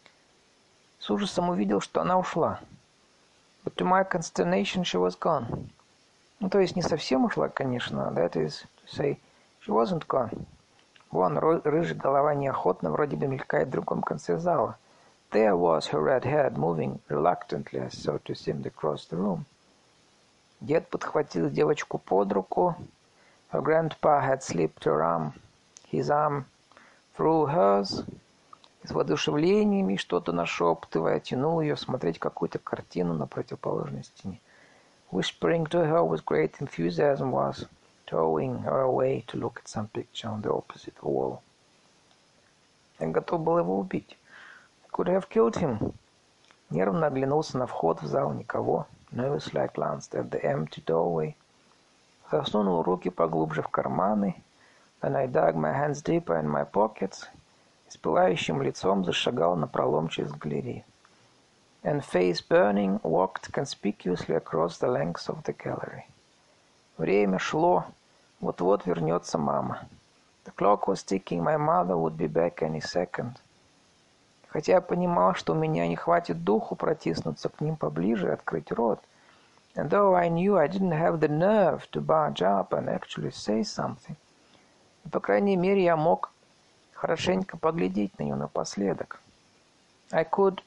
С ужасом увидел, что она ушла. But to my consternation she was gone. Ну, то есть не совсем ушла, конечно. That is to say, she wasn't gone. Вон, рыжая голова неохотно вроде бы мелькает в другом конце зала. There was her red head moving reluctantly, as so to seem, across the room. Дед подхватил девочку под руку. Her grandpa had slipped her arm, his arm through hers. С воодушевлениями, что-то нашептывая, тянул ее смотреть какую-то картину на противоположной стене. Whispering to her with great enthusiasm was towing her away to look at some picture on the opposite wall. Я готов был его убить. I could have killed him. Нервно оглянулся на вход в зал, никого. Nervously I glanced at the empty doorway. Засунул руки поглубже в карманы. Then I dug my hands deeper in my pockets. И с пылающим лицом зашагал напролом через галерею. And face burning, walked conspicuously across the length of the gallery. Время шло. Вот-вот вернется мама. The clock was ticking. My mother would be back any second. Хотя я понимал, что у меня не хватит духу протиснуться к ним поближе и открыть рот. And though I knew I didn't have the nerve to barge up and actually say something, по крайней мере, я мог хорошенько поглядеть на нее напоследок. I could,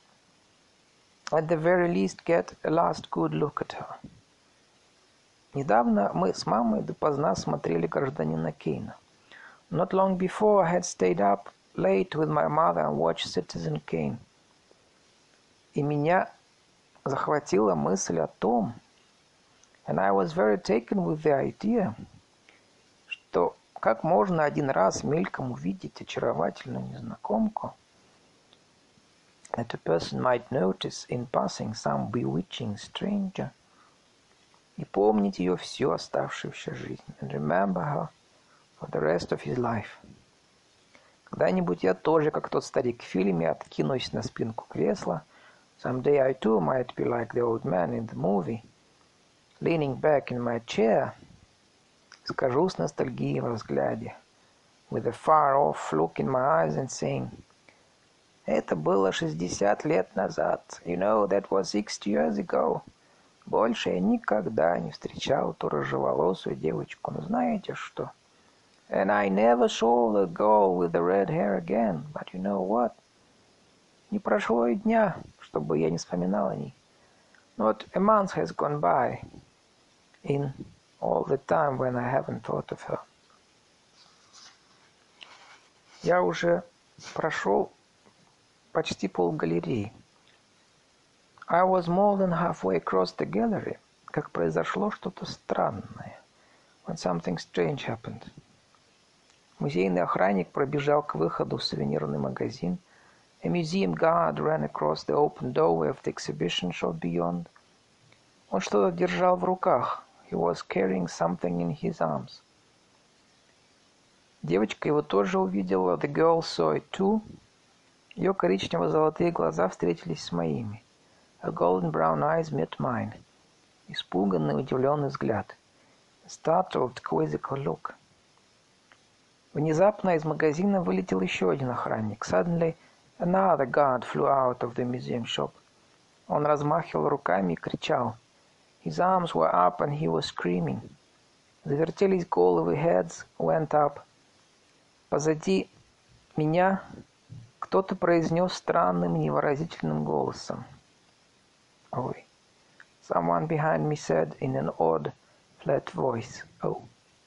at the very least, get a last good look at her. Недавно мы с мамой допоздна смотрели «Гражданина Кейна». Not long before, I had stayed up late with my mother and watched Citizen Kane. И меня захватила мысль о том, and I was very taken with the idea, что как можно один раз мельком увидеть очаровательную незнакомку, that a person might notice in passing some bewitching stranger, и помнить ее всю оставшуюся жизнь, and remember her for the rest of his life. Когда-нибудь я тоже, как тот старик в фильме, откинусь на спинку кресла. Someday I too might be like the old man in the movie, leaning back in my chair, скажу с ностальгией во взгляде, with a far-off look in my eyes and saying, это было шестьдесят лет назад. You know, that was sixty years ago. Больше я никогда не встречал ту рыжеволосую девочку. Но знаете что? And I never saw the girl with the red hair again. But you know what? Не прошло и дня, чтобы я не вспоминал о ней. Not a month has gone by in all the time when I haven't thought of her. Я уже прошел почти полгалереи. I was more than halfway across the gallery, как произошло что-то странное. When something strange happened. Музейный охранник пробежал к выходу в сувенирный магазин. A museum guard ran across the open doorway of the exhibition shop beyond. Он что-то держал в руках. He was carrying something in his arms. Девочка его тоже увидела. The girl saw it too. Ее коричнево-золотые глаза встретились с моими. Her golden brown eyes met mine. Испуганный, удивленный взгляд. A startled, quizzical look. Внезапно из магазина вылетел еще один охранник. Suddenly, another guard flew out of the museum shop. Он размахивал руками и кричал. His arms were up and he was screaming. Завертелись головы, heads went up. Позади меня кто-то произнес странным невыразительным голосом. Ой. Someone behind me said in an odd, flat voice, oh.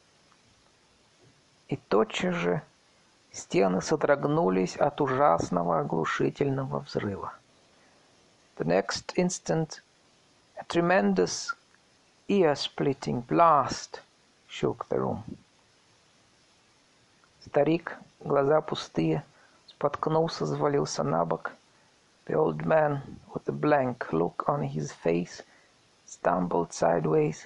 И тотчас же стены содрогнулись от ужасного оглушительного взрыва. The next instant, a tremendous, ear-splitting blast shook the room. Старик, глаза пустые, споткнулся, завалился на бок. The old man, with a blank look on his face, stumbled sideways.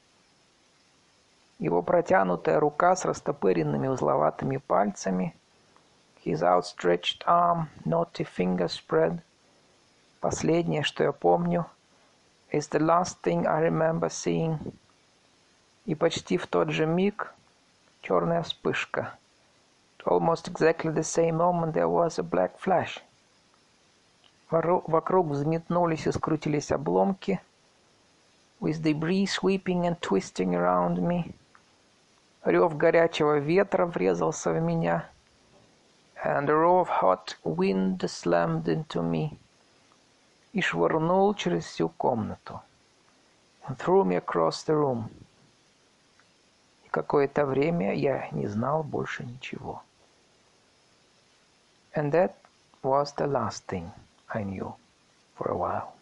Его протянутая рука с растопыренными узловатыми пальцами, his outstretched arm, knotty finger spread. Последнее, что я помню, is the last thing I remember seeing. И почти в тот же миг черная вспышка. At almost exactly the same moment there was a black flash. Вокруг взметнулись и скрутились обломки. With debris sweeping and twisting around me. Рев горячего ветра врезался в меня. And a roar of hot wind slammed into me. И швырнул через всю комнату. And threw me across the room. И какое-то время я не знал больше ничего. And that was the last thing I knew for a while.